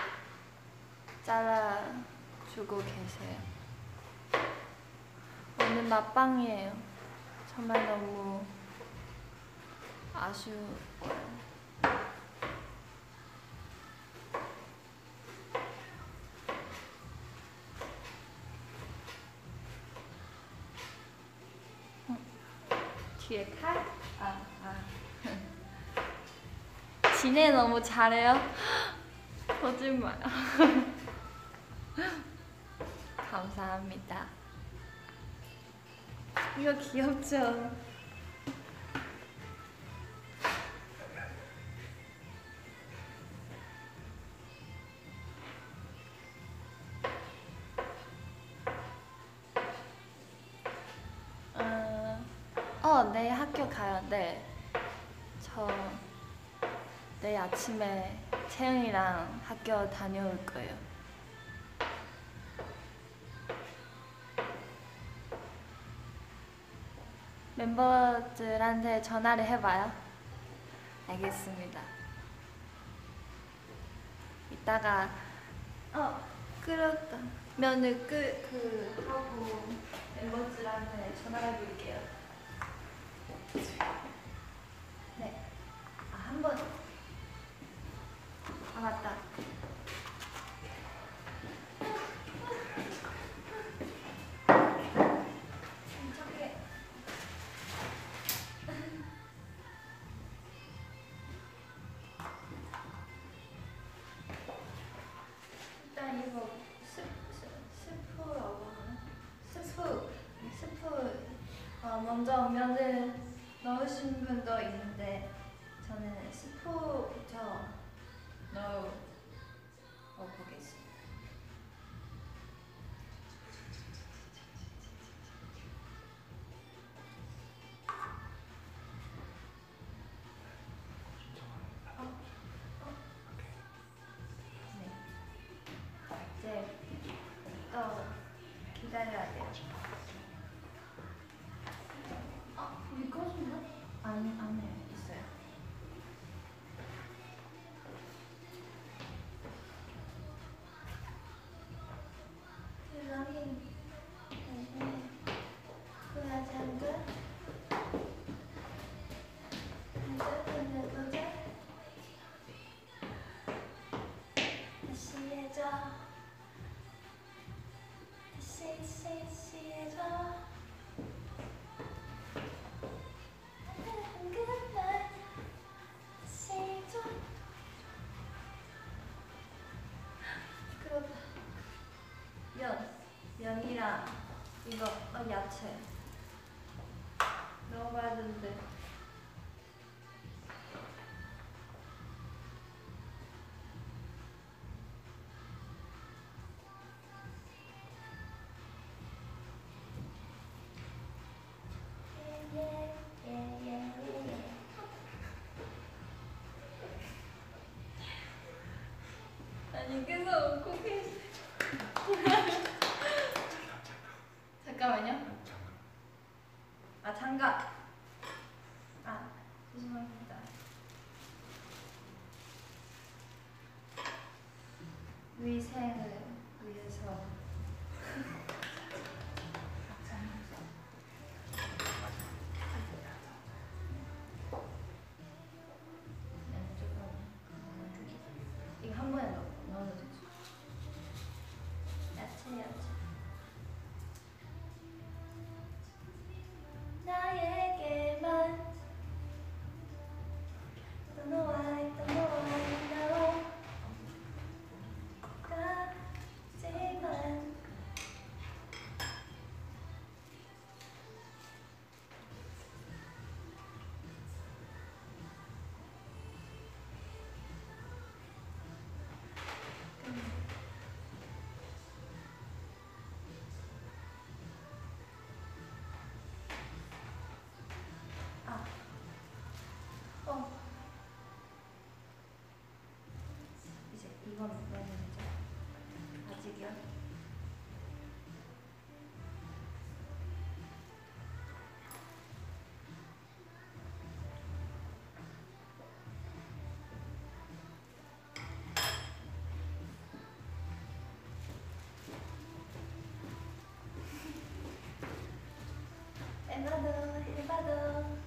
잘라주고 계세요. 오늘 맛방이에요. 정말 너무 아쉬워요. 뒤에 칼? 아, 아. 지네 너무 잘해요. 거짓말. 감사합니다. 이거 귀엽죠? 어, 어, 내일 학교 가요. 네. 저 내일 아침에 채영이랑 학교 다녀올 거예요. 멤버들한테 전화를 해봐요. 알겠습니다. 이따가 어 그렇다 면을 끄, 그 하고 멤버들한테 전화해볼게요. 네. 아, 한 번. 아 맞다. 일단 이거 스, 스, 스프라고 하나? 스프 스프 어, 먼저 면을 넣으신 분도 있는데 저는 스프부터 넣어 보겠습니다. 이거 어, 야채 넣어봐야 되는데. 아니 계속 웃고 계시. 잠깐만요. 아 장갑. 아 죄송합니다. 위생을 위해서. 이거 한 번에 넣어, 넣어도 되지. 야채 야채. 나에게만 Don't know why, don't know why, no. 까지만 아, 어. 이제 이건 몇 년이죠? 아직이요? 해봐도 해봐도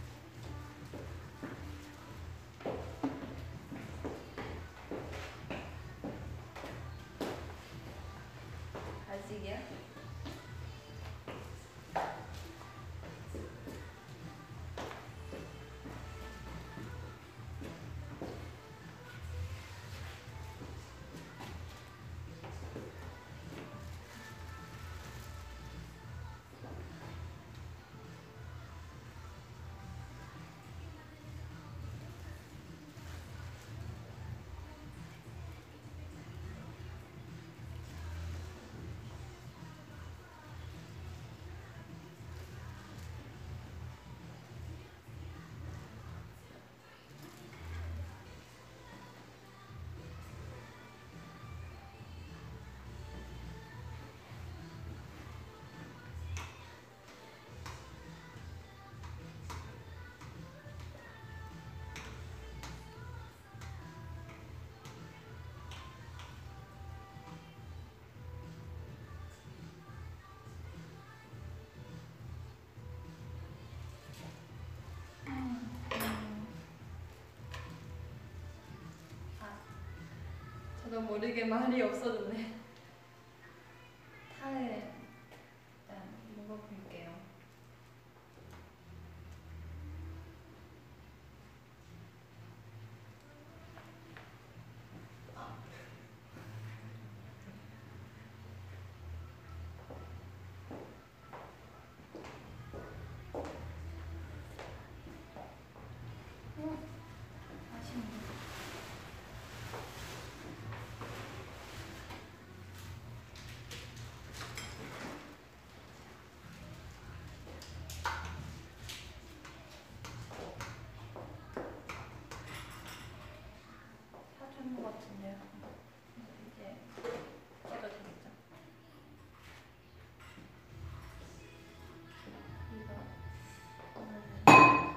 아직이요? 저도 모르게 말이 없어졌네. 탕을 일단 먹어볼게요. 음, 맛있네. 사준 것 같은데요. 이제 써도 되겠죠? 이거 오늘은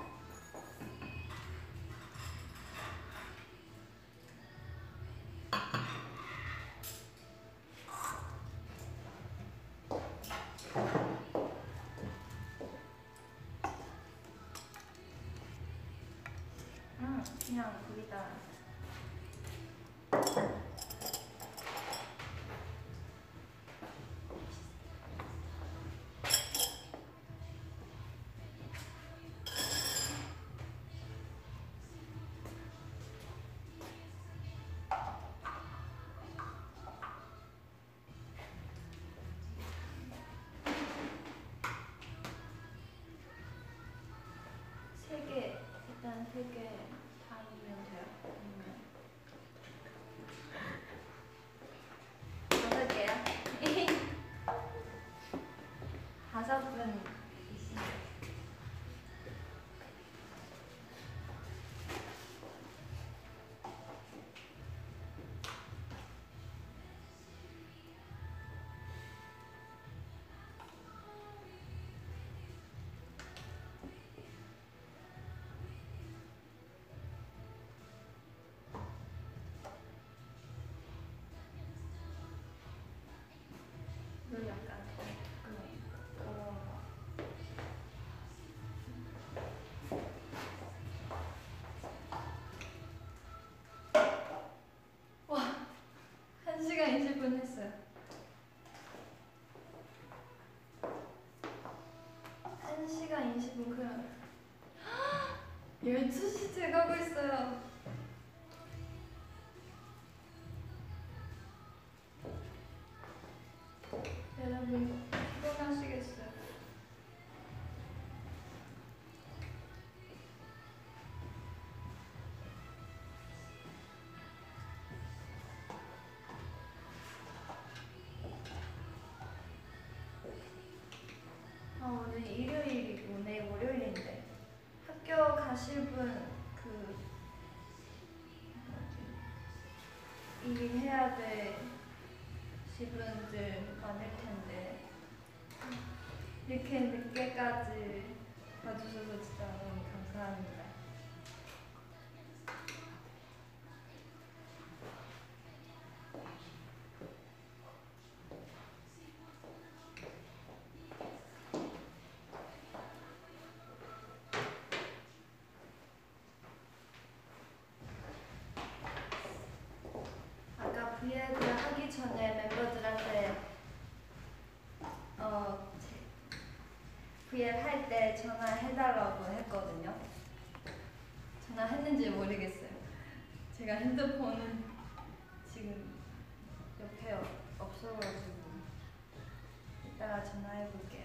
음 그냥 거기다 세 개 다니면 돼요? 아니면 다섯 개야? 다섯 분이시죠? 물 약간 더, 더, 더. 와, 한 시간 이십 분 했어요. 한 시간 이십 분 그냥 열두 시째 가고 있어요. 여러분 피곤하시겠어요? 아, 오늘 일요일이고 내일 월요일인데 학교 가실 분 그 일해야 되실 분들 많을 텐데 이렇게 늦게까지 봐주셔서 진짜 너무 감사합니다. 아까 브이앱을 하기 전에 멤버들한테 어 브이앱 할 때 전화해달라고 했거든요. 전화했는지 모르겠어요. 제가 핸드폰은 지금 옆에 없- 없어가지고 이따가 전화해볼게요.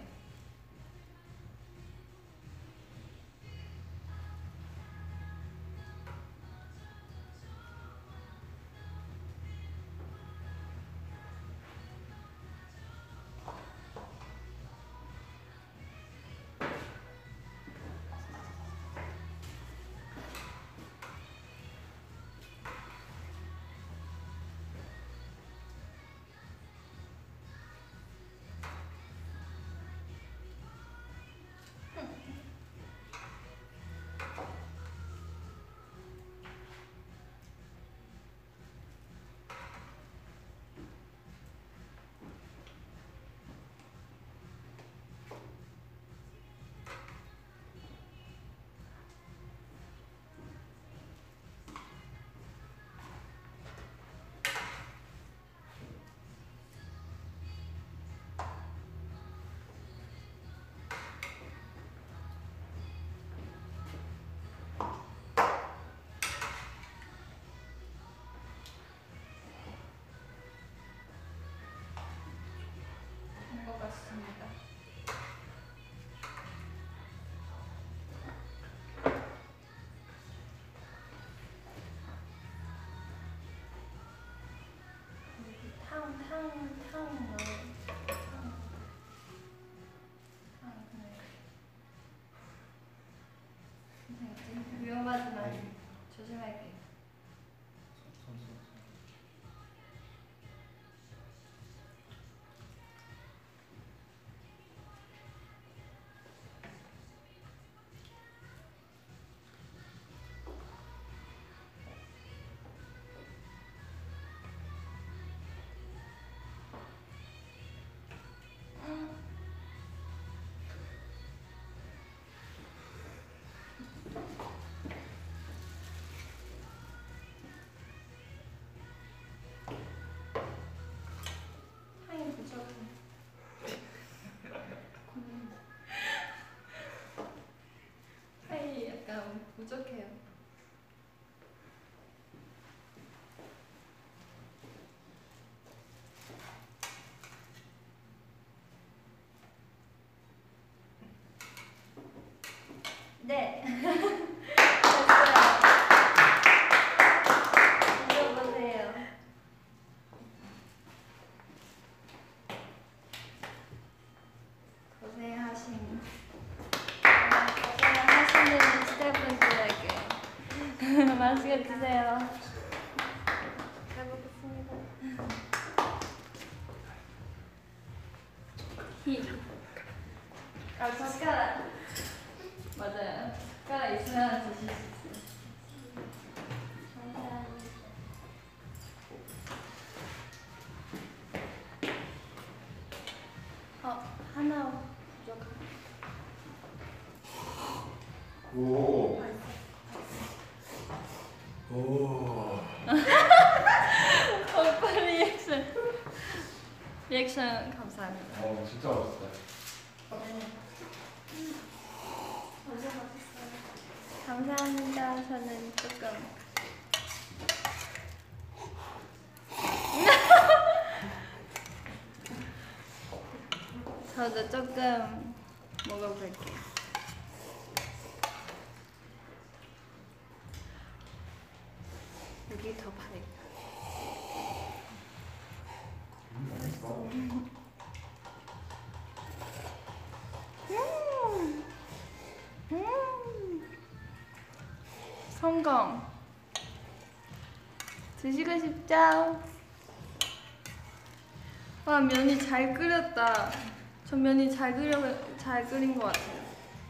된 것 같습니다. 탕, 탕, 탕, 뭐, 탕, 탕, 네. 선생님, 위험하지만 조심할게요. 손, 손, 손. 드세요. 잘 먹겠습니다. 히. 아, 젓가락. 맞아요. 젓가락 있으면 드실 수 있어요. 감사합니다. 어, 하나 부족한. 오. 오. 오빠 리액션. 리액션 감사합니다. 어 진짜 맛있다. 감사합니다. 저는 조금 저도 조금 먹어볼게요. 여기 더 바를까? 음, 맛있어. 음, 음, 성공. 드시고 싶죠? 와, 면이 잘 끓였다. 저 면이 잘 끓여 잘 끓인 것 같아요.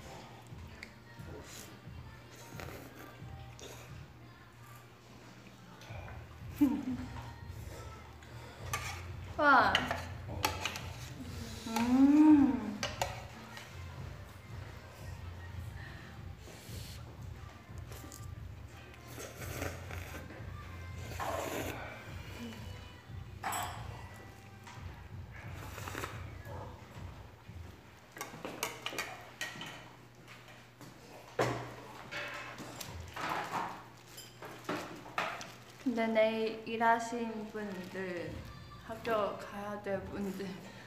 와. 음. 근데 내일 일하신 분들, 학교 가야 될 분들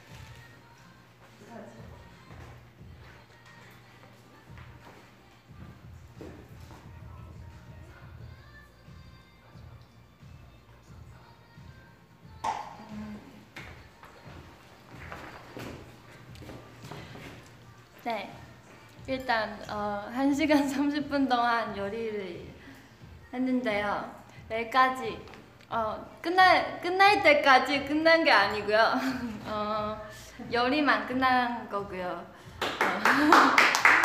네, 일단 어, 한 시간 삼십 분 동안 요리를 했는데요. 내일까지 어, 끝날, 끝날 때까지 끝난 게 아니고요. 어, 요리만 끝난 거고요. 어.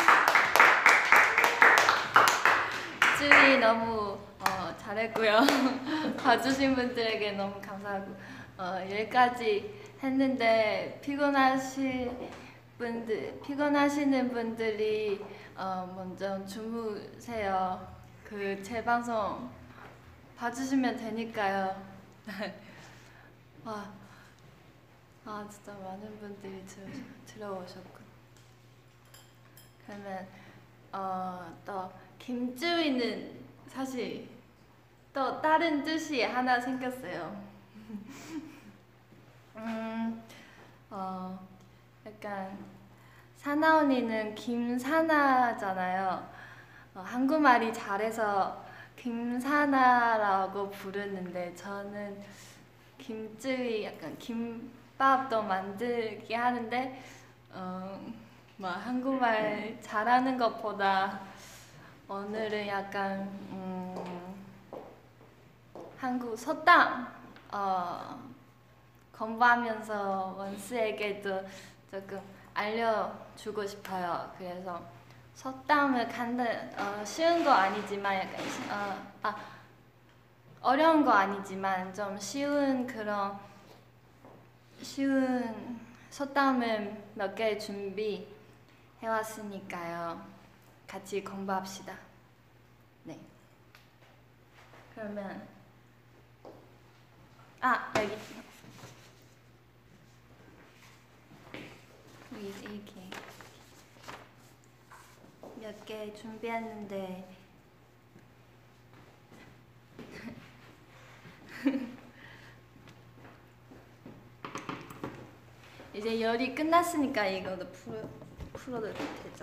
쭈이 너무 어, 잘했고요. 봐주신 분들에게 너무 감사하고 어, 여기까지 했는데 피곤하시 분들 피곤하시는 분들이 어, 먼저 주무세요. 그 제 방송 봐주시면 되니까요. 와, 아 진짜 많은 분들이 들어, 들어오셨군. 그러면 어, 또 김쯔위는 사실 또 다른 뜻이 하나 생겼어요. 음, 어, 약간 사나 언니는 김사나잖아요. 어, 한국말이 잘해서 김사나라고 부르는데 저는 김쯔위 약간 김밥도 만들게 하는데 어, 뭐 한국말 잘하는 것보다 오늘은 약간 음, 한국 서당 어, 공부하면서 원스에게도 조금 알려주고 싶어요. 그래서 서당을 간다 어, 쉬운 거 아니지만 약간 어, 아 어려운 거 아니지만 좀 쉬운 그런 쉬운 서당을 몇 개 준비해 왔으니까요. 같이 공부합시다. 네. 그러면 아 여기 여기 이렇게 몇 개 준비했는데 이제 열이 끝났으니까 이거도 풀어 풀어도 되죠?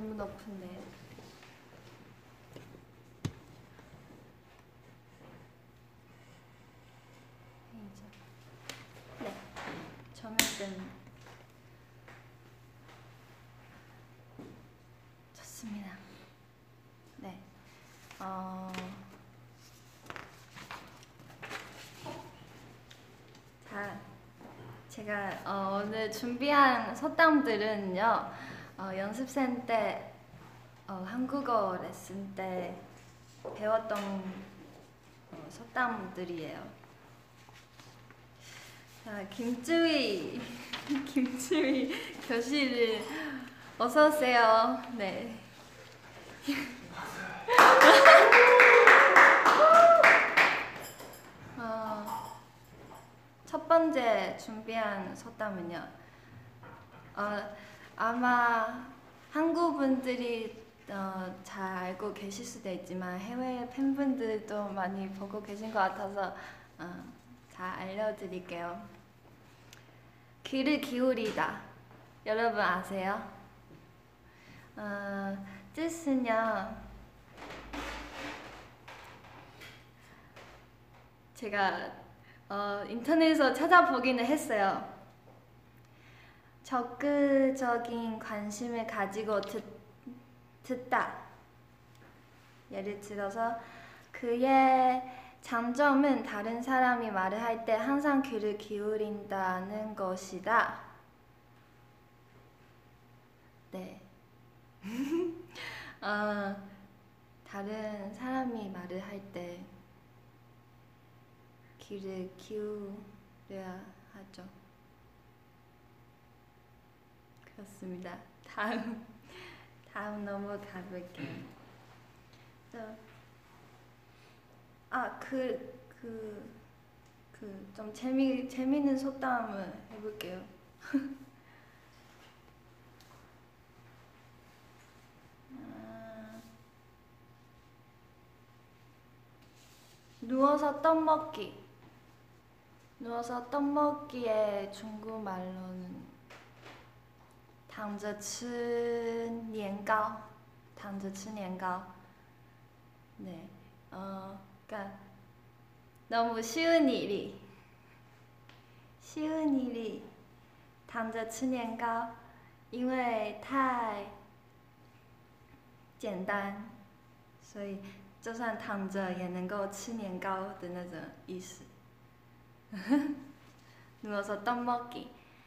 너무 높은데. 네, 조명등 좋습니다. 네, 어, 자, 제가 어, 오늘 준비한 소담들은요, 어, 연습생 때 어, 한국어 레슨 때 배웠던 어, 소담들이에요. 자, 김쯔위, 김쯔위 교실을 어서 오세요. 네. 어, 첫 번째 준비한 소담은요. 어, 아마 한국 분들이 어, 잘 알고 계실 수도 있지만 해외 팬분들도 많이 보고 계신 것 같아서 어, 잘 알려드릴게요. 귀를 기울이다. 여러분 아세요? 어, 뜻은요. 제가 어, 인터넷에서 찾아보기는 했어요. 적극적인 관심을 가지고 듣, 듣다. 예를 들어서 그의 장점은 다른 사람이 말을 할 때 항상 귀를 기울인다는 것이다. 네. 어, 다른 사람이 말을 할 때 귀를 기울여야 하죠. 그렇습니다. 다음 다음 넘어가 볼게요. 아, 그, 그, 그, 좀 재미, 재미있는 속담을 해볼게요. 아, 누워서 떡 먹기. 누워서 떡 먹기의 중국말로는 躺着吃年糕, 躺着吃年糕. 네, 어, 그러니까 너무 쉬운 일이, 쉬운 일이 躺着吃年糕，因为太简单，所以就算躺着也能够吃年糕的那种意思。누워서 떡 먹기.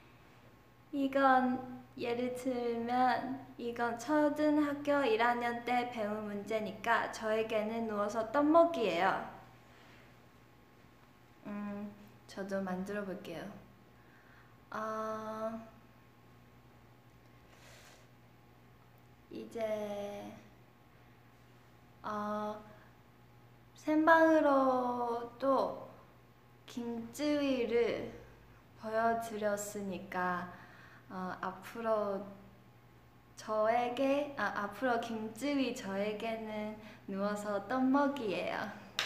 이건 예를 들면 이건 초등학교 일 학년 때 배운 문제니까 저에게는 누워서 떡 먹기예요. 음, 저도 만들어 볼게요. 어, 이제 어, 생방으로 또 김쯔위를 보여드렸으니까 어, 앞으로 저에게 아 앞으로 김쯔위 저에게는 누워서 떡 먹이에요.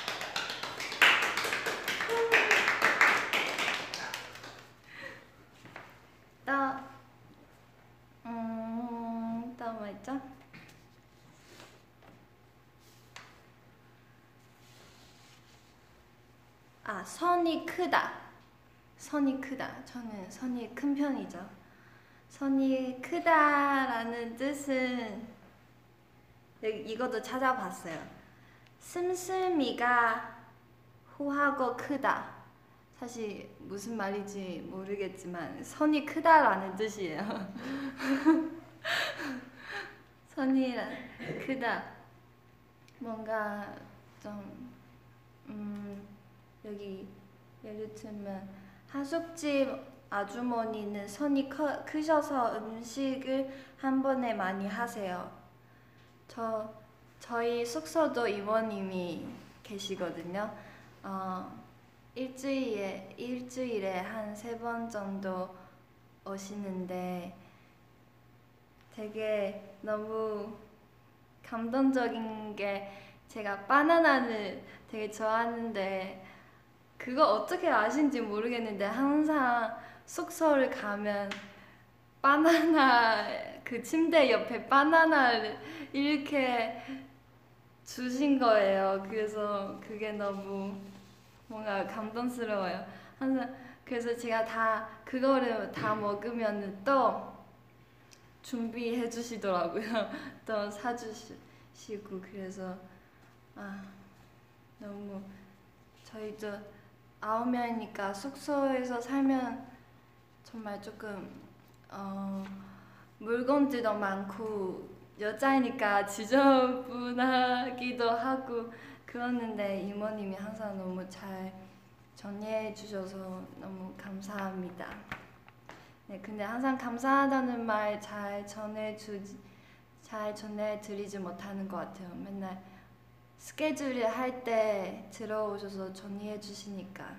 또 음, 또 뭐 있죠? 아, 선이 크다. 선이 크다. 저는 선이 큰 편이죠. 선이 크다라는 뜻은 이것도 찾아봤어요. 씀씀이가 후하고 크다. 사실 무슨 말인지 모르겠지만 선이 크다라는 뜻이에요. 선이란 크다. 뭔가 좀 음, 여기 예를 들면 하숙집 아주머니는 손이 커, 크셔서 음식을 한 번에 많이 하세요. 저, 저희 숙소도 이모님이 계시거든요. 어, 일주일에, 일주일에 한 세 번 정도 오시는데 되게 너무 감동적인 게 제가 바나나를 되게 좋아하는데 그거 어떻게 아신지 모르겠는데 항상 숙소를 가면 바나나 그 침대 옆에 바나나를 이렇게 주신 거예요. 그래서 그게 너무 뭔가 감동스러워요. 항상 그래서 제가 다 그거를 다 먹으면 또 준비해 주시더라고요. 또 사주시고 그래서 아 너무 저희도 아홉 명이니까 숙소에서 살면 정말 조금 어 물건들도 많고 여자이니까 지저분하기도 하고 그러는데 이모님이 항상 너무 잘 정리해 주셔서 너무 감사합니다. 네, 근데 항상 감사하다는 말 잘 전해주지 잘 전해드리지 못하는 것 같아요. 맨날 스케줄을 할 때 들어오셔서 정리해 주시니까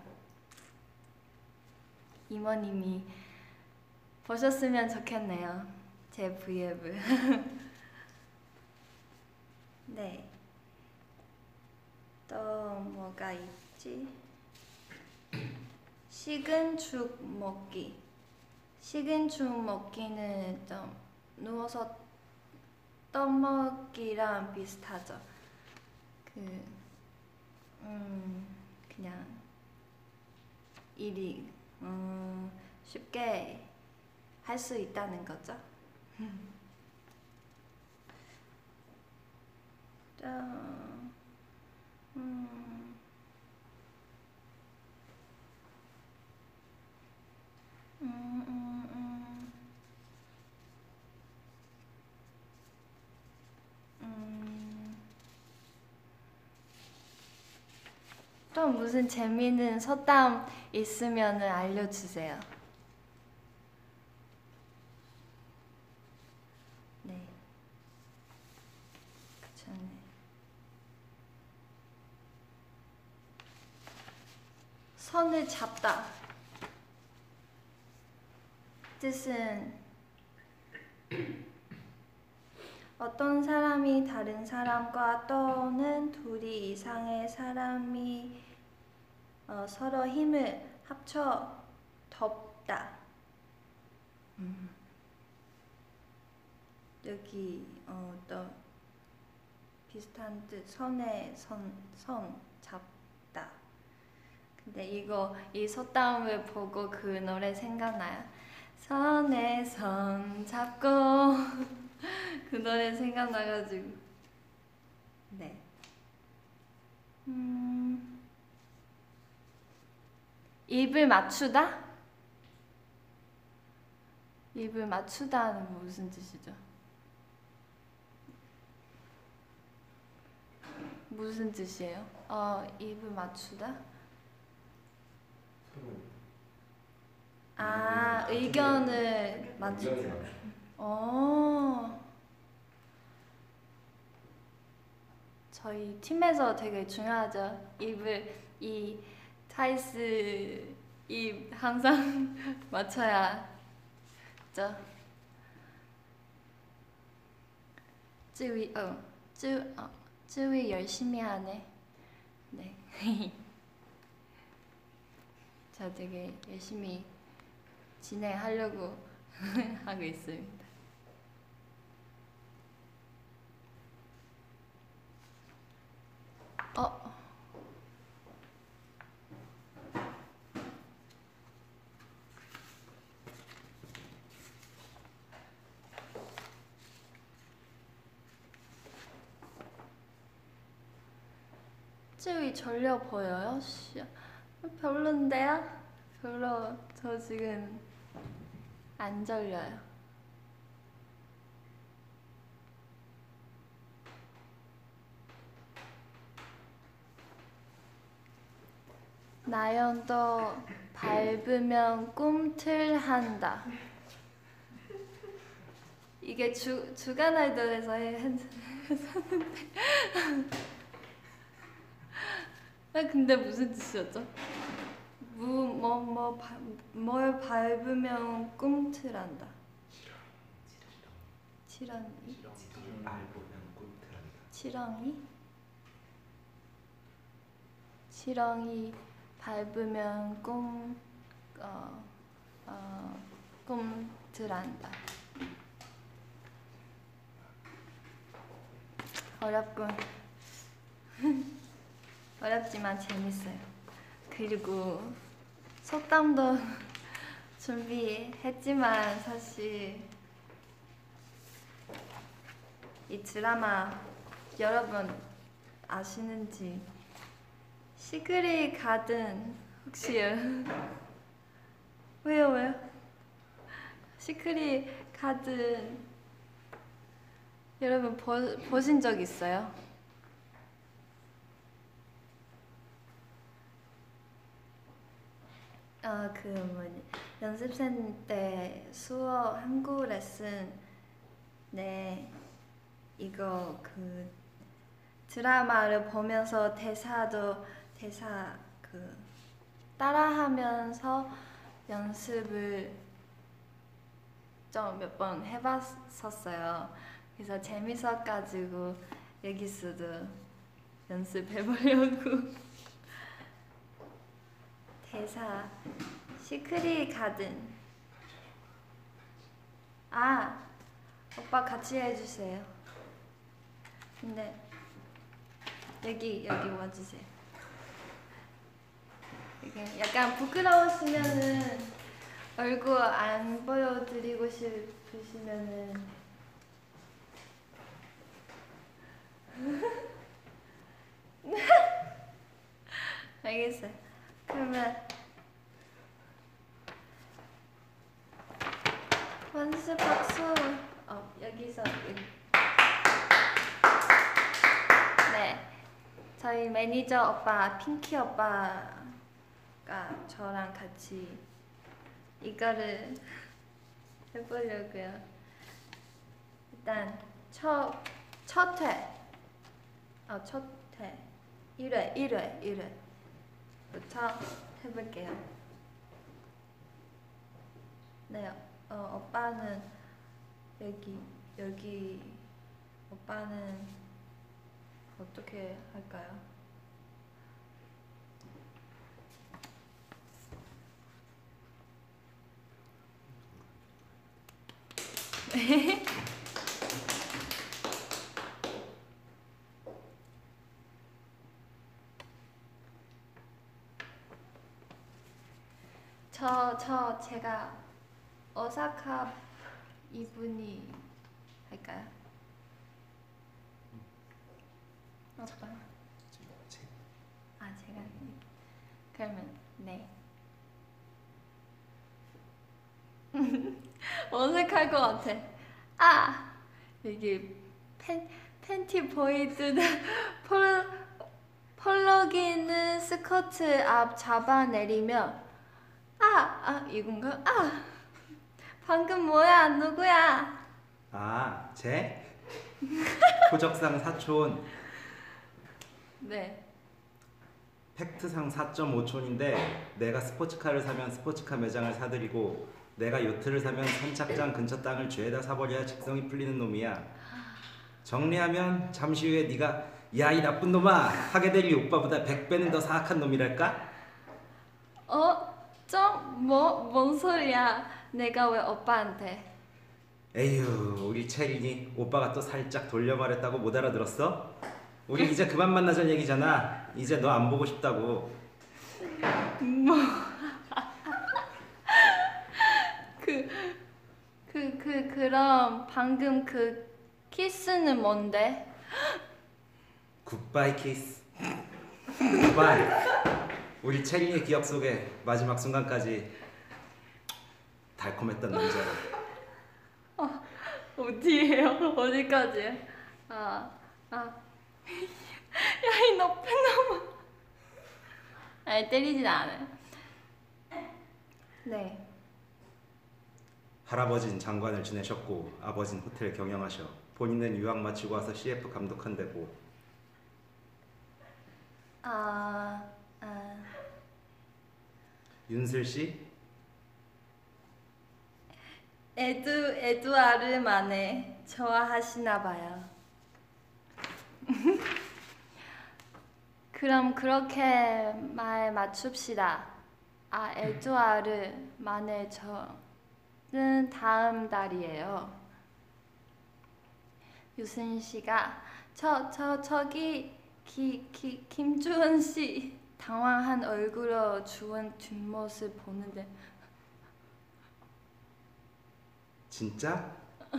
이모님이 보셨으면 좋겠네요. 제 브이앱을. 네. 또 뭐가 있지? 식은 죽 먹기. 식은 죽 먹기는 좀 누워서 떡 먹기랑 비슷하죠. 그, 음, 그냥 일이 음, 쉽게 할 수 있다는 거죠. 또, 음, 음, 음, 음. 음. 또 무슨 재미있는 속담 있으면 알려주세요. 네. 그쵸, 네. 손을 잡다. 뜻은 어떤 사람이 다른 사람과 또는 둘이 이상의 사람이 어, 서로 힘을 합쳐 덮다. 음. 여기 어, 또 비슷한 뜻 손에 손, 손 잡다. 근데 이거 이 속담을 보고 그 노래 생각나요. 손에 손 잡고 그 노래 생각나가지고 네. 음, 입을 맞추다? 입을 맞추다는 무슨 뜻이죠? 무슨 뜻이에요? 어, 입을 맞추다? 서로 아, 음, 의견을 맞추. 의견을 맞추. 어. 저희 팀에서 되게 중요하죠. 입을 이 타이스 입 항상 맞춰야 죠. 쯔위 어, 쯔 어, 쯔위 열심히 하네. 네. 저 되게 열심히 진행하려고 하고 있습니다. 어. 쯔위 졸려 보여요? 씨, 별론데요? 별로. 저 지금 안 졸려요. 나연도 밟으면 꿈틀한다. 이게 주, 주간 아이돌에서 했었는데 아, 근데 무슨 뜻이었죠? 무, 뭐, 뭐, 바, 뭘 밟으면 꿈틀한다. 치렁이? 지렁이를 밟으면 꿈틀한다. 치렁이? 치렁이 밟으면 꿈, 어, 어, 꿈 드란다. 어렵군. 어렵지만 재밌어요. 그리고 속담도 준비했지만 사실 이 드라마 여러분 아시는지 시크릿 가든 혹시 왜요 왜요? 시크릿 가든 여러분 보, 보신 적 있어요? 어, 그 뭐니 연습생 때 수업 한국 레슨 네 이거 그 드라마를 보면서 대사도 대사 그 따라하면서 연습을 좀 몇 번 해봤었어요. 그래서 재밌어가지고 여기서도 연습해보려고. 대사 시크릿 가든. 아 오빠 같이 해주세요. 근데 여기 여기 와주세요. 이게 약간 부끄러우시면은 얼굴 안 보여드리고 싶으시면은 알겠어요. 그러면 원수 박수. 어 여기서 여기. 네, 저희 매니저 오빠 핑키 오빠가 저랑 같이 이거를 해보려고요. 일단 첫 첫 회, 어 첫 회 일 회 일 회 일 회부터 해볼게요. 네, 어 오빠는 여기 여기 오빠는 어떻게 할까요? 저, 저 제가 오사카 이분이 할까요? 오빠. 아 제가 그러면 네. 어색할 것 같아. 아 여기 팬 팬티 보이드 폴 폴로기는 스커트 앞 잡아내리며 아, 아 이건가? 아 방금 뭐야 누구야? 아, 쟤? 표적상 사촌. 네. 팩트상 사 점 오 촌인데 내가 스포츠카를 사면 스포츠카 매장을 사들이고 내가 요트를 사면 선착장 근처 땅을 죄다 사버려야 직성이 풀리는 놈이야. 정리하면 잠시 후에 네가 야 이 나쁜 놈아 하게 될 이 오빠보다 백 배는 더 사악한 놈이랄까? 어? 좀 뭐? 뭔 소리야? 내가 왜 오빠한테? 에휴 우리 체린이 오빠가 또 살짝 돌려 말했다고 못 알아들었어? 우리 이제 그만 만나자는 얘기잖아. 이제 너 안 보고 싶다고. 뭐? 그, 그, 그, 그럼 방금 그 키스는 뭔데? 굿바이 키스. 굿바이. 우리 체린의 기억 속에 마지막 순간까지 달콤했던 남자로. 어, 어디에요? 어디까지요? 아, 아. 야, 이 높은 놈아. 아니, 때리진 않아요. 네. 할아버진 장관을 지내셨고 아버진 호텔 경영하셔. 본인은 유학 마치고 와서 씨에프 감독한대고. 아, 아. 윤슬 씨? 에두, 에두아르만에 좋아하시나 봐요. 그럼 그렇게 말 맞춥시다. 아, 에두아르만에 저 다음 달이에요. 유승 씨가 저, 저, 저기 기, 기, 김주은 씨 당황한 얼굴로 주은 뒷모습 보는데 진짜?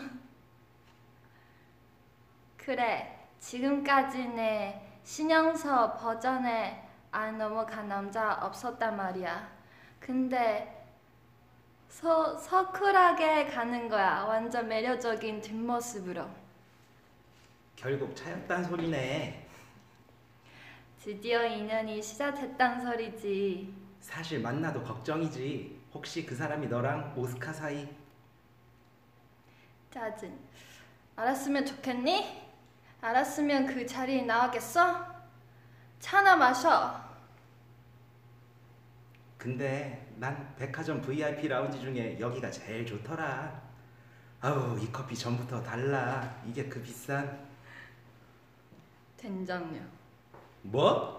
그래 지금까지는 신영서 버전에 안 넘어간 남자 없었단 말이야. 근데 서, 서쿨하게 가는 거야. 완전 매력적인 뒷모습으로. 결국 차였단 소리네. 드디어 인연이 시작됐단 소리지. 사실 만나도 걱정이지. 혹시 그 사람이 너랑 오스카 사이? 짜증. 알았으면 좋겠니? 알았으면 그 자리에 나왔겠어? 차나 마셔. 근데 난 백화점 브이아이피 라운지 중에 여기가 제일 좋더라. 아우 이 커피 전부터 달라. 이게 그 비싼 된장녀. 뭐?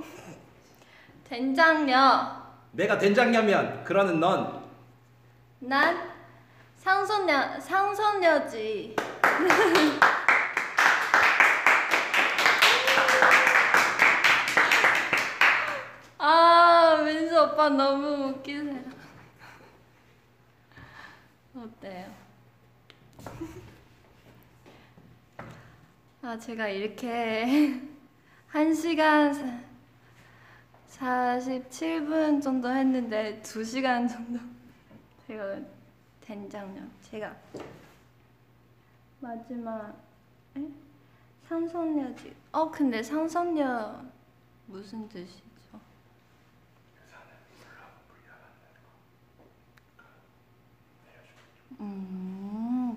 된장녀. 내가 된장녀면 그러는 넌 난 상선녀, 상선녀지. 아, 민수 오빠 너무 웃기세요. 어때요? 아, 제가 이렇게 한 시간 사십칠 분 정도 했는데 두 시간 정도 제가 된장녀 제가 마지막 에? 상선녀지. 어 근데 상선녀 무슨 뜻이죠? 음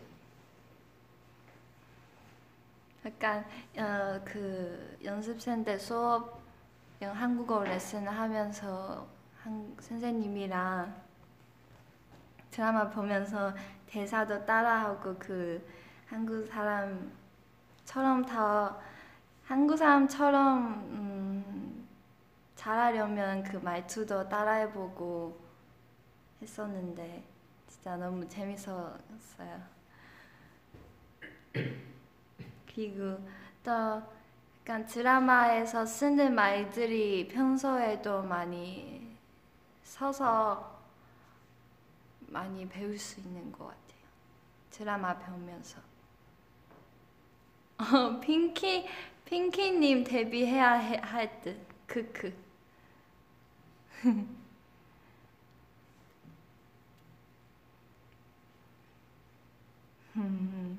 약간 어, 그 연습생 때 수업 영- 한국어 레슨 하면서 한, 선생님이랑 드라마 보면서 대사도 따라하고 그 한국 사람처럼 더 한국 사람처럼 음, 잘하려면 그 말투도 따라해보고 했었는데 진짜 너무 재밌었어요. 그리고 또 약간 드라마에서 쓰는 말들이 평소에도 많이 써서 많이 배울 수 있는 것 같아요. 드라마 보면서. 어, 핑키, 핑키님 데뷔해야 해- 할 듯. 크크. 음.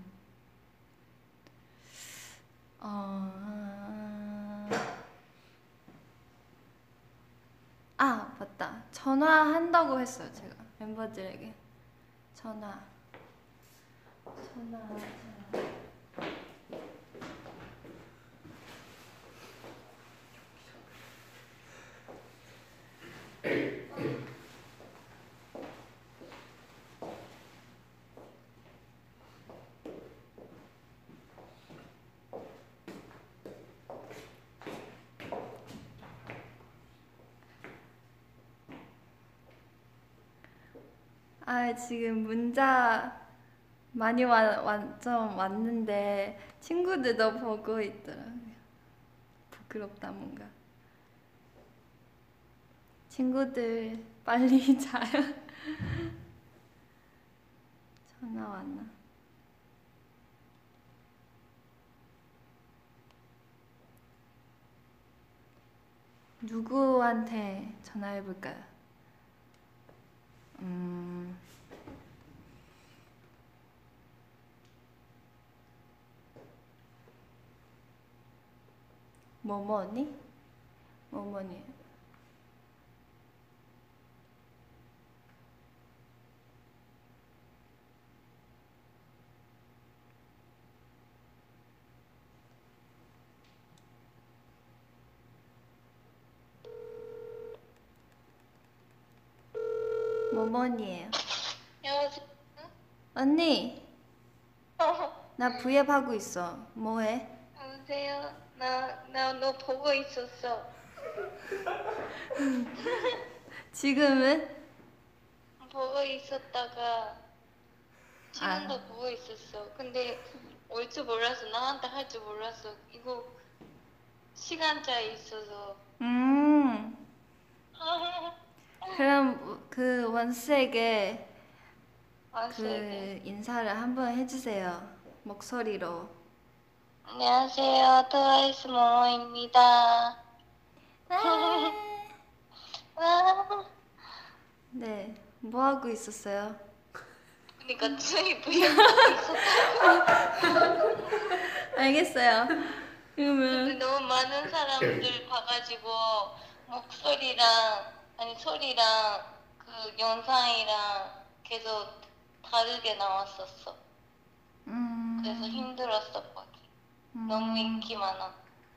어... 아, 맞다. 전화한다고 했어요, 제가. 멤버들에게. 전화. 전화하자. 아, 지금 문자 많이 와, 와, 좀 왔는데 친구들도 보고 있더라고요. 부끄럽다 뭔가. 친구들 빨리 자요. 전화 왔나? 누구한테 전화해 볼까요? 음. 뭐뭐니? 뭐뭐니? 뭐뭐니예요. 여보세요? 언니, 나 브이앱 하고 있어. 뭐해? 여보세요? 나, 나 너 보고 있었어. 지금은? 보고 있었다가 지금도 보고 있었어. 근데 올 줄 몰랐어. 나한테 할 줄 몰랐어. 이거 시간차에 있어서. 음. 그럼 그 원스에게 그 원스에게. 인사를 한번 해주세요. 목소리로. 안녕하세요. 트와이스 모모입니다. 와. 네. 뭐 하고 있었어요? 그러니까 저희 브이앱하고 있었다고. 알겠어요. 근데 그러면 너무 많은 사람들 봐가지고 목소리랑 아니 소리랑 그 영상이랑 계속 다르게 나왔었어. 음. 그래서 힘들었어 보기. 음. 너무 인기 많아.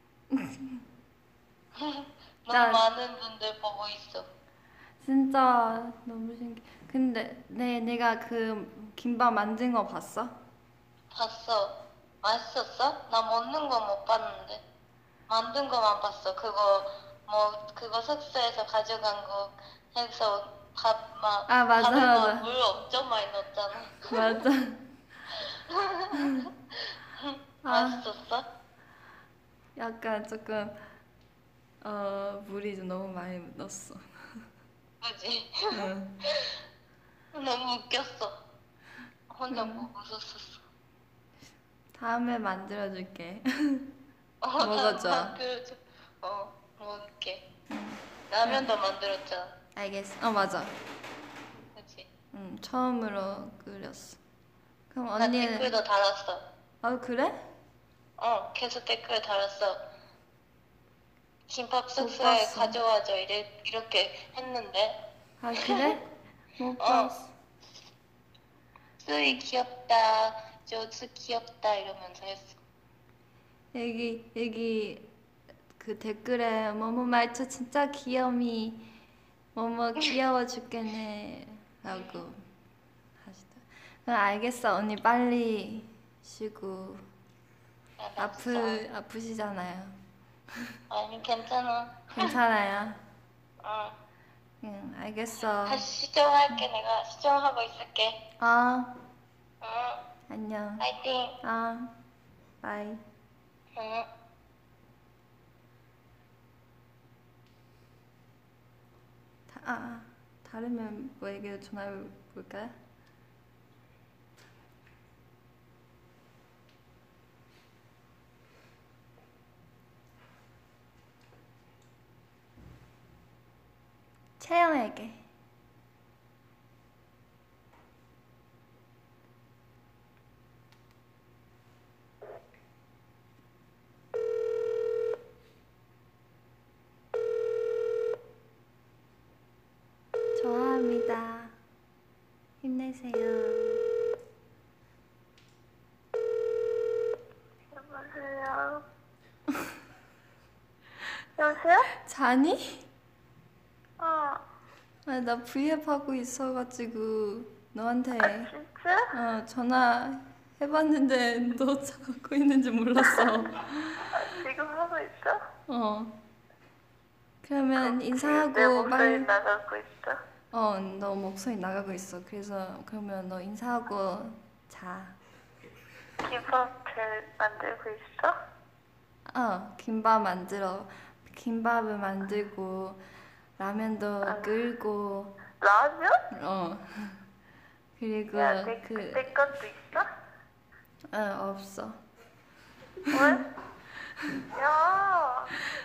너무 나- 많은 분들 보고 있어. 진짜 너무 신기. 근데 네 내가 그 김밥 만든 거 봤어? 봤어. 맛있었어? 나 먹는 거 못 봤는데. 만든 거만 봤어. 그거 뭐 그거 숙소에서 가져간 거 해서 밥막 아, 맞아, 밥에 맞아. 막 물 엄청 많이 넣었잖아. 맞아. 아, 맛있었어? 약간 조금 어 물이 좀 너무 많이 넣었어. 그지? 응. 너무 웃겼어. 혼자 음. 보고 웃었었어. 다음에 만들어줄게. 어, 먹어줘. 나 만들어줘. 어, 먹을게. 라면도 만들었잖아. 알겠어. 어 맞아. 그치? 응 처음으로 끓였어. 그럼 나 언니는 댓글도 달았어. 아 그래? 어, 계속 댓글 달았어. 김밥 못 숙소에 봤어. 가져와줘. 이래, 이렇게 했는데. 아 그래? 못 어. 봤어. 수이 귀엽다. 조수 귀엽다. 이러면서 했어. 여기 여기 그 댓글에 뭐뭐 말투 진짜 귀염이 뭐뭐 귀여워 죽겠네 라고 하시다. 그럼 알겠어 언니 빨리 쉬고 알았어. 아프 아프시잖아요. 아니, 괜찮아. 괜찮아요. 응. 응 알겠어. 다시 시정할게. 내가 시정하고 있을게. 아 응. 안녕. 파이팅. 아 바이. 응. 다, 아, 아 다르면 뭐에게 전화해 볼까요? 채영에게. 좋아합니다. 힘내세요. 여보세요? 여보세요? 자니? 어. 아, 나 브이앱 하고 있어가지고 너한테 진짜? 어, 전화 해봤는데 너 자고 있는지 몰랐어. 지금 하고 있어? 어. 그러면 내 인사하고 목소리 빨리. 나가고 있어? 어, 너 목소리 나가고 있어. 그래서 그러면 너 인사하고 자. 김밥 잘 만들고 있어? 어, 김밥 만들어. 김밥을 만들고 라면도 끓고. 라면? 어. 그리고 야, 내, 그 내 것도 있어? 어, 없어. 왜? 야,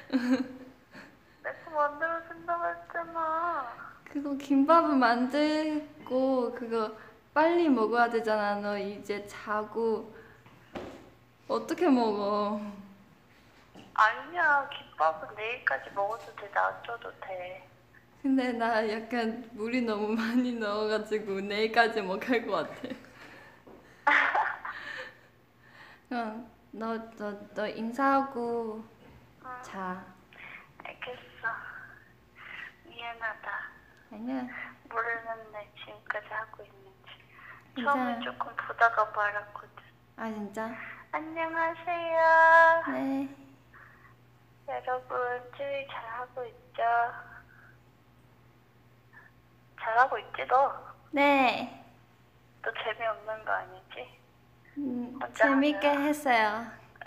내 거 만들어준다고 했잖아. 그거 김밥을 만들고 그거 빨리 먹어야 되잖아. 너 이제 자고 어떻게 먹어? 아니야, 김밥은 내일까지 먹어도 돼. 놔둬도 돼. 근데 나 약간 물이 너무 많이 넣어가지고 내일까지 못 할 것 같아. 그럼 너, 너, 너 인사하고 응, 자. 알겠어. 미안하다. 아니야. 모르는데 지금까지 하고 있는지. 괜찮아. 처음에 조금 보다가 말았거든. 아 진짜? 안녕하세요. 네. 여러분, 쯔위 잘하고 있죠? 잘하고 있지, 너? 네. 또 재미없는 거 아니지? 음, 혼자 재밌게 하느라. 했어요.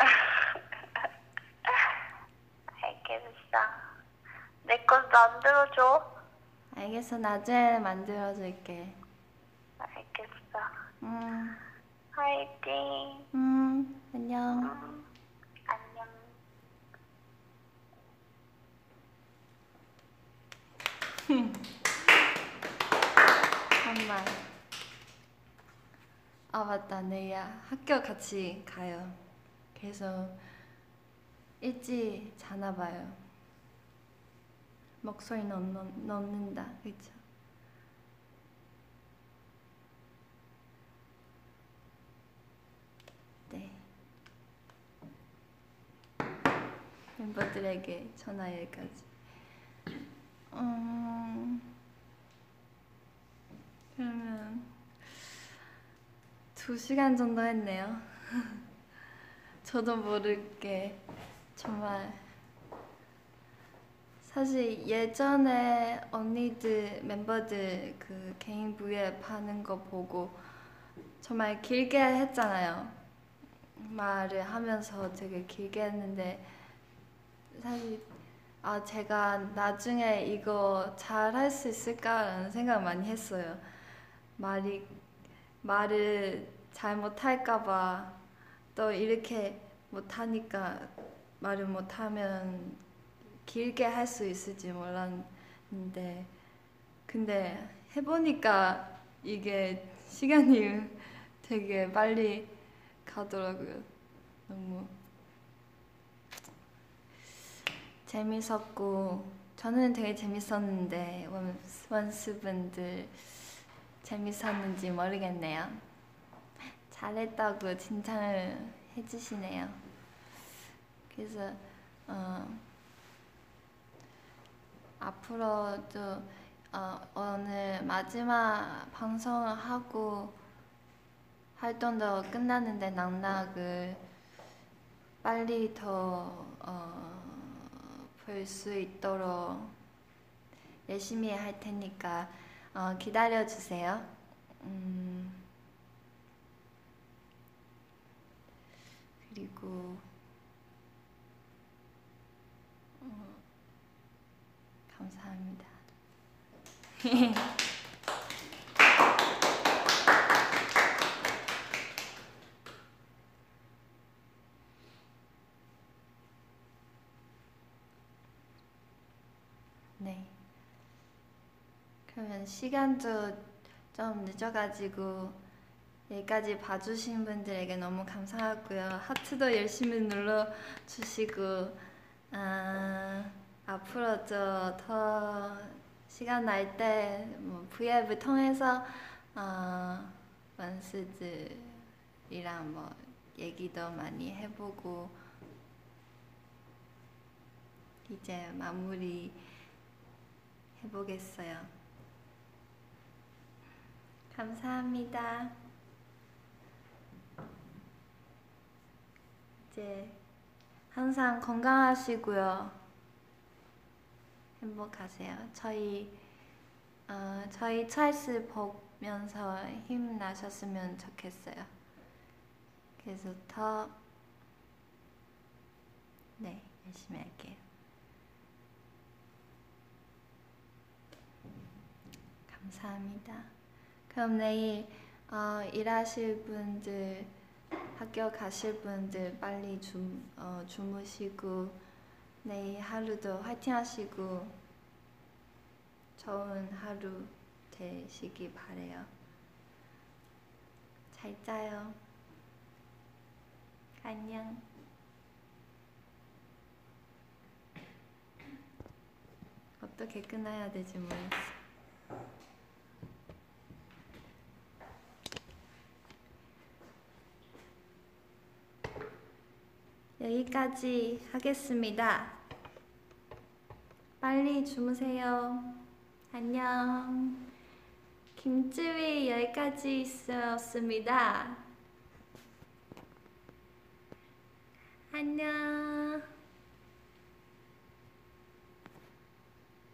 알겠어. 내 것 만들어줘. 알겠어, 나중에 만들어줄게. 알겠어. 음, 화이팅. 음, 안녕. 음, 안녕. 정말. 아 맞다, 내일 학교 같이 가요. 그래서 일찍 자나 봐요. 목소리 넣, 넣, 넣는다, 그쵸? 네. 멤버들에게 전화 여기까지. 음, 그러면 두 시간 정도 했네요. 저도 모르게 정말. 사실 예전에 언니들 멤버들 그 개인 브이앱 하는 거 보고 정말 길게 했잖아요. 말을 하면서 되게 길게 했는데 사실 아 제가 나중에 이거 잘 할 수 있을까라는 생각 많이 했어요. 말이 말을 잘 못할까봐 또 이렇게 못하니까 말을 못하면 길게 할 수 있을지 몰랐는데 근데 해보니까 이게 시간이 되게 빨리 가더라고요. 너무 재밌었고 저는 되게 재밌었는데 원스, 원스분들 재밌었는지 모르겠네요. 잘했다고 칭찬을 해주시네요. 그래서 어, 앞으로도 어, 오늘 마지막 방송을 하고 활동도 끝났는데 낙낙을 빨리 더 볼 수 있도록 열심히 할 테니까 어, 기다려주세요. 음, 그리고 어, 감사합니다. 네. 그러면 시간도 좀 늦어가지고 여기까지 봐주신 분들에게 너무 감사하고요. 하트도 열심히 눌러주시고 아, 앞으로도 더 시간 날 때 뭐 브이앱을 통해서 어, 원스들이랑 뭐 얘기도 많이 해보고 이제 마무리 해보겠어요. 감사합니다. 이제 항상 건강하시고요. 행복하세요. 저희 어, 저희 트와이스 보면서 힘나셨으면 좋겠어요. 그래서 더 네, 열심히 할게요. 감사합니다. 그럼 내일 어, 일하실 분들, 학교 가실 분들 빨리 주, 어, 주무시고 내일 하루도 화이팅 하시고 좋은 하루 되시기 바래요. 잘 자요. 안녕. 어떻게 끝나야 될지 모르겠어. 여기까지 하겠습니다. 빨리 주무세요. 안녕. 김쯔위 여기까지 있었습니다. 안녕.